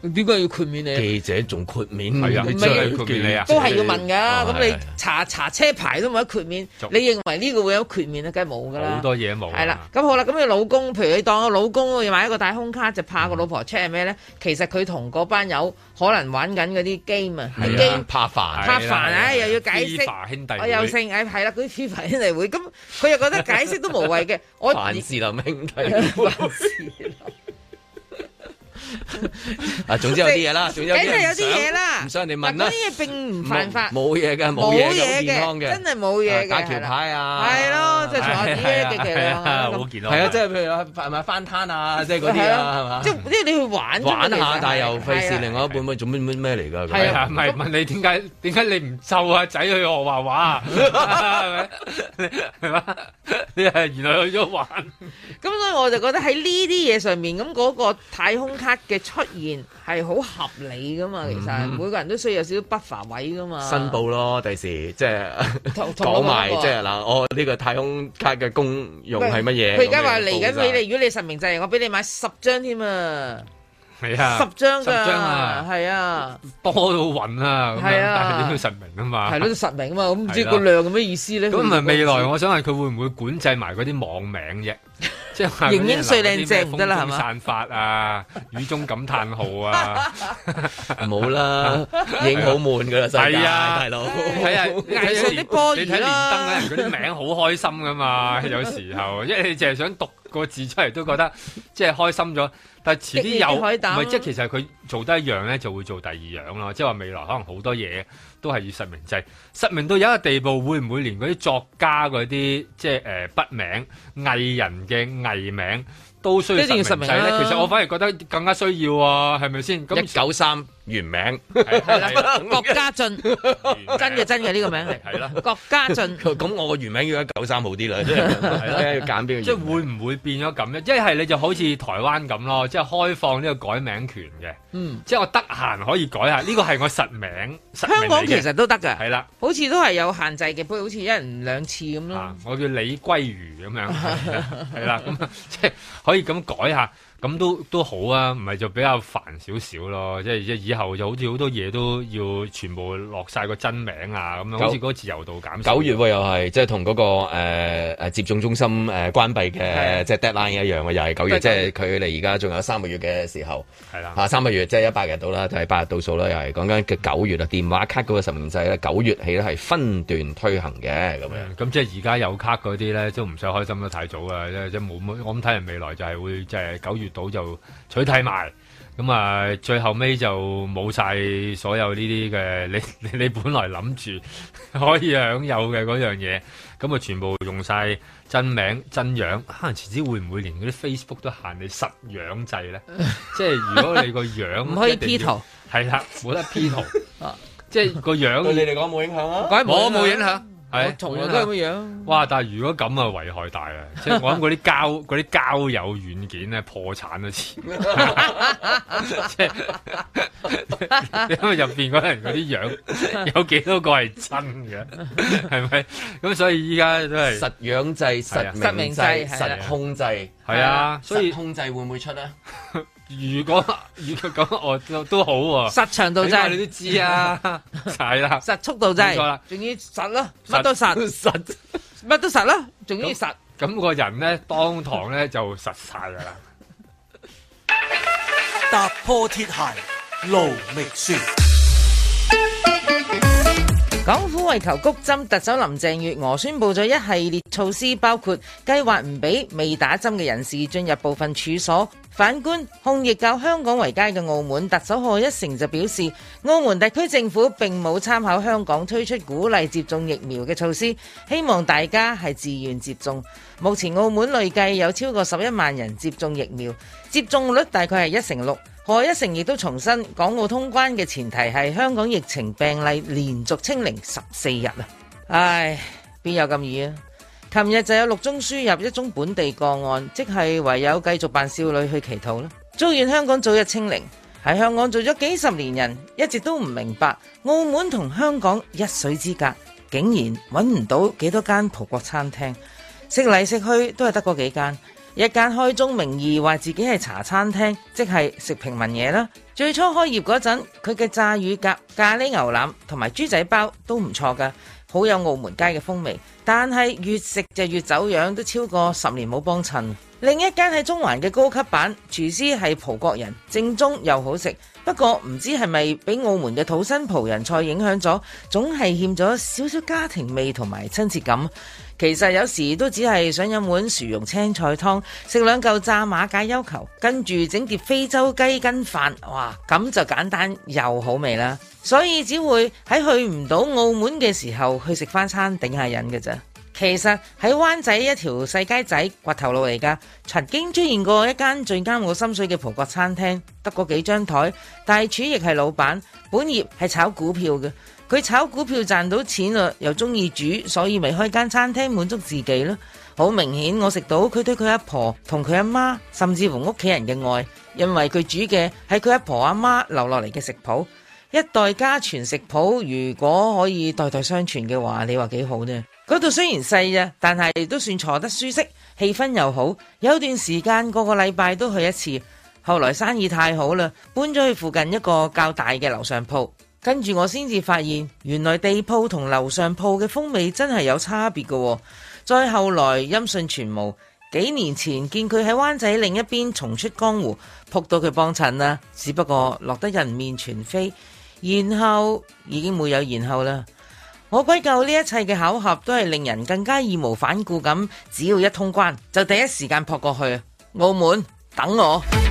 [SPEAKER 4] 點解要豁免你？
[SPEAKER 2] 記者仲豁免？
[SPEAKER 3] 係啊，真係豁免你啊？
[SPEAKER 4] 都係要問㗎。咁你查車牌都冇得豁免，你認為呢個會有豁免啊？梗係冇㗎啦。
[SPEAKER 3] 好多嘢冇。
[SPEAKER 4] 係啦，咁好啦，咁你老公，譬如你當個老公要買一個太空卡，就怕個老婆 check 係咩咧？其實佢同嗰班友可能玩緊嗰啲 game 啊，game
[SPEAKER 2] 怕煩，
[SPEAKER 4] 又要解釋，
[SPEAKER 3] 兄弟
[SPEAKER 4] 我又姓係啦，嗰啲 FIFA 兄弟會，咁佢又覺得解釋都無謂嘅，我
[SPEAKER 2] 凡士林兄弟。總之有啲嘢啦，總之有啲嘢啦，唔想人哋問啦。嗰啲嘢並唔犯法，冇嘢嘅，冇嘢嘅，健康嘅，真係冇嘢嘅。打橋牌啊，係咯，即係從下啲嘅其實
[SPEAKER 3] 好健康。
[SPEAKER 2] 係啊，即係譬如係咪翻攤啊，即係嗰啲啊，係嘛？即係
[SPEAKER 4] 你去玩
[SPEAKER 2] 下，但係又費事另外一半做咩嚟㗎？
[SPEAKER 3] 係啊，唔係問你點解你唔湊阿仔去學畫畫？係嘛？你係原來去咗玩。
[SPEAKER 4] 咁所以我就覺得喺呢啲嘢上面，咁嗰個太空卡嘅出現係好合理噶嘛，其實每個人都需要有少少buffer位噶嘛。
[SPEAKER 2] 申報咯，第時即係講埋即係嗱，我呢個太空卡嘅功用係乜嘢？
[SPEAKER 4] 佢而家話嚟緊俾你，如果你實名制，我俾你買10張添啊！
[SPEAKER 3] 係啊
[SPEAKER 4] ，10張㗎，
[SPEAKER 3] 啊，
[SPEAKER 4] 係啊，
[SPEAKER 3] 多到暈啊，咁樣，但係你要實名啊嘛，
[SPEAKER 4] 係咯，實名啊嘛，咁唔知個量係咩意思咧？
[SPEAKER 3] 咁唔係未來，我想問佢會唔會管制埋嗰啲網名啫？即係
[SPEAKER 4] 型英帥靚正唔得啦，係嘛？
[SPEAKER 3] 散發啊，雨中感嘆號啊，
[SPEAKER 2] 冇啦，已經好悶噶啦，
[SPEAKER 3] 係啊，
[SPEAKER 2] 大佬，
[SPEAKER 3] 係啊，
[SPEAKER 4] 藝術啲波
[SPEAKER 3] 你睇連登咧，人嗰啲名好開心噶嘛，有時候，因為你淨係想讀個字出嚟都覺得即係開心咗。但係遲啲有，唔係即係其實佢做得一樣咧，就會做第二樣咯。即係話未來可能好多嘢都係要實名制，實名到有一個地步，會唔會連嗰啲作家嗰啲即係筆名、藝人嘅藝名都需要實名制咧？其實我反而覺得更加需要啊，係咪先？咁
[SPEAKER 2] 193原名
[SPEAKER 4] 係啦，郭家俊真嘅呢個名係
[SPEAKER 3] 啦，
[SPEAKER 4] 郭家俊。
[SPEAKER 2] 咁我個原名要193好啲啦，即係要揀邊個？
[SPEAKER 3] 即係會唔會變咗咁咧？一係你就好似台灣咁咯，即係開放呢個改名權嘅。即係我得閒可以改下，呢個係我實名。
[SPEAKER 4] 香港其實都得㗎，
[SPEAKER 3] 係啦，
[SPEAKER 4] 好似都係有限制嘅，不過好似1人2次咁咯。
[SPEAKER 3] 我叫李歸如咁樣，係啦，咁即係可以咁改下。咁都好啊，唔係就比較煩少少咯，即係以後就好似好多嘢都要全部落晒個真名啊，咁樣好似嗰個自由度減少。
[SPEAKER 2] 9月又係即係同嗰個接種中心關閉嘅即係 deadline 一樣嘅，又係9月，即係佢哋而家仲有3個月嘅時候，
[SPEAKER 3] 係啦
[SPEAKER 2] 3個月即係100日到啦，就係8日倒數啦，又係講緊嘅9月啊，電話卡嗰個實名制咧9月起咧係分段推行嘅咁樣。
[SPEAKER 3] 咁即係而家有卡嗰啲咧都唔使開心得太早啊，即係冇我諗睇人未來就係會即係9月到就取締埋，咁啊最後尾就冇晒所有呢啲嘅你本來諗住可以享有嘅嗰樣嘢，咁啊全部用晒真名真樣，可能遲啲會唔會連嗰啲 Facebook 都限你實樣制咧？即係如果你個樣
[SPEAKER 4] 唔可以 P 圖，
[SPEAKER 3] 係啦，冇得 P 圖，即係個樣
[SPEAKER 2] 對你嚟講冇影響啊？
[SPEAKER 3] 我冇影響。
[SPEAKER 4] 係同樣都係咁樣。
[SPEAKER 3] 哇！但係如果咁啊，危害大啊！即係我諗嗰啲交友軟件咧破產都似，即係因為入邊嗰人嗰啲樣有幾多個係真嘅，係咪？咁所以依家都係
[SPEAKER 2] 實樣制、實名制、實控制，
[SPEAKER 3] 係啊。所以
[SPEAKER 2] 控制會唔會出咧？
[SPEAKER 3] 如果咁，我都好喎。
[SPEAKER 4] 實長度制
[SPEAKER 3] 你都知啊，係啦。
[SPEAKER 4] 實速度制，冇錯啦，仲要實咯，乜都實，乜都實咯，仲要實。
[SPEAKER 3] 咁個人咧，當堂咧就實晒噶啦。
[SPEAKER 1] 踏破鐵鞋路未雪。
[SPEAKER 4] 港府為求谷針，特首林鄭月娥宣布咗一系列措施，包括計劃唔俾未打針嘅人士進入部分處所。反觀控疫較香港為佳嘅澳門，特首賀一誠就表示，澳門特區政府並冇參考香港推出鼓勵接種疫苗嘅措施，希望大家係自願接種。目前澳門累計有超過11萬人接種疫苗，接種率大概係6%。賀一誠亦都重申，港澳通關嘅前提係香港疫情病例連續清零14日啊！唉，邊有咁易啊？琴日就有6宗輸入，1宗本地個案，即係唯有繼續扮少女去祈禱啦。祝願香港早日清零。喺香港做咗幾十年人，一直都唔明白澳門同香港一水之隔，竟然揾唔到幾多間葡國餐廳，食嚟食去都係得嗰幾間。 一間開宗明義話自己係茶餐廳，即係食平民嘢啦。最初開業嗰陣，佢嘅炸乳鴿、咖喱牛腩同埋豬仔包都唔錯㗎，好有澳門街嘅風味。但係越食就越走樣，都超過10年冇幫襯。另一間喺中環嘅高級版，廚師係葡國人，正宗又好食。不過唔知係咪俾澳門嘅土生葡人菜影響咗，總係欠咗少少家庭味同埋親切感。其實有時都只係想飲碗薯蓉青菜湯，食2嚿炸馬介休球，跟住整碟非洲雞筋飯，哇，咁就簡單又好味啦。所以只會喺去唔到澳門嘅時候去食翻餐頂下癮嘅咋。其實喺灣仔一條細街仔掘頭路嚟㗎，曾經出現過一間最啱我心水嘅葡國餐廳，得嗰幾張台，大廚亦係老闆，本業係炒股票嘅。佢炒股票賺到錢啦，又中意煮，所以咪開間餐廳滿足自己咯。好明顯我食到佢對佢阿婆同佢阿媽甚至乎屋企人嘅愛，因為佢煮嘅係佢阿婆阿媽留落嚟嘅食譜，一代家傳食譜，如果可以代代相傳嘅話，你話幾好呢？嗰度雖然細啊，但係都算坐得舒適，氣氛又好，有段時間個個禮拜都去一次。後來生意太好啦，搬咗去附近一個較大嘅樓上鋪。跟住我先至發現，原來地鋪同樓上鋪嘅風味真係有差別嘅。再後來音訊傳無，幾年前見佢喺灣仔另一邊重出江湖，撲到佢幫襯啦。只不過落得人面全非，然後已經沒有然後啦。我歸咎呢一切嘅巧合都係令人更加義無反顧咁，只要一通關就第一時間撲過去。澳門等我。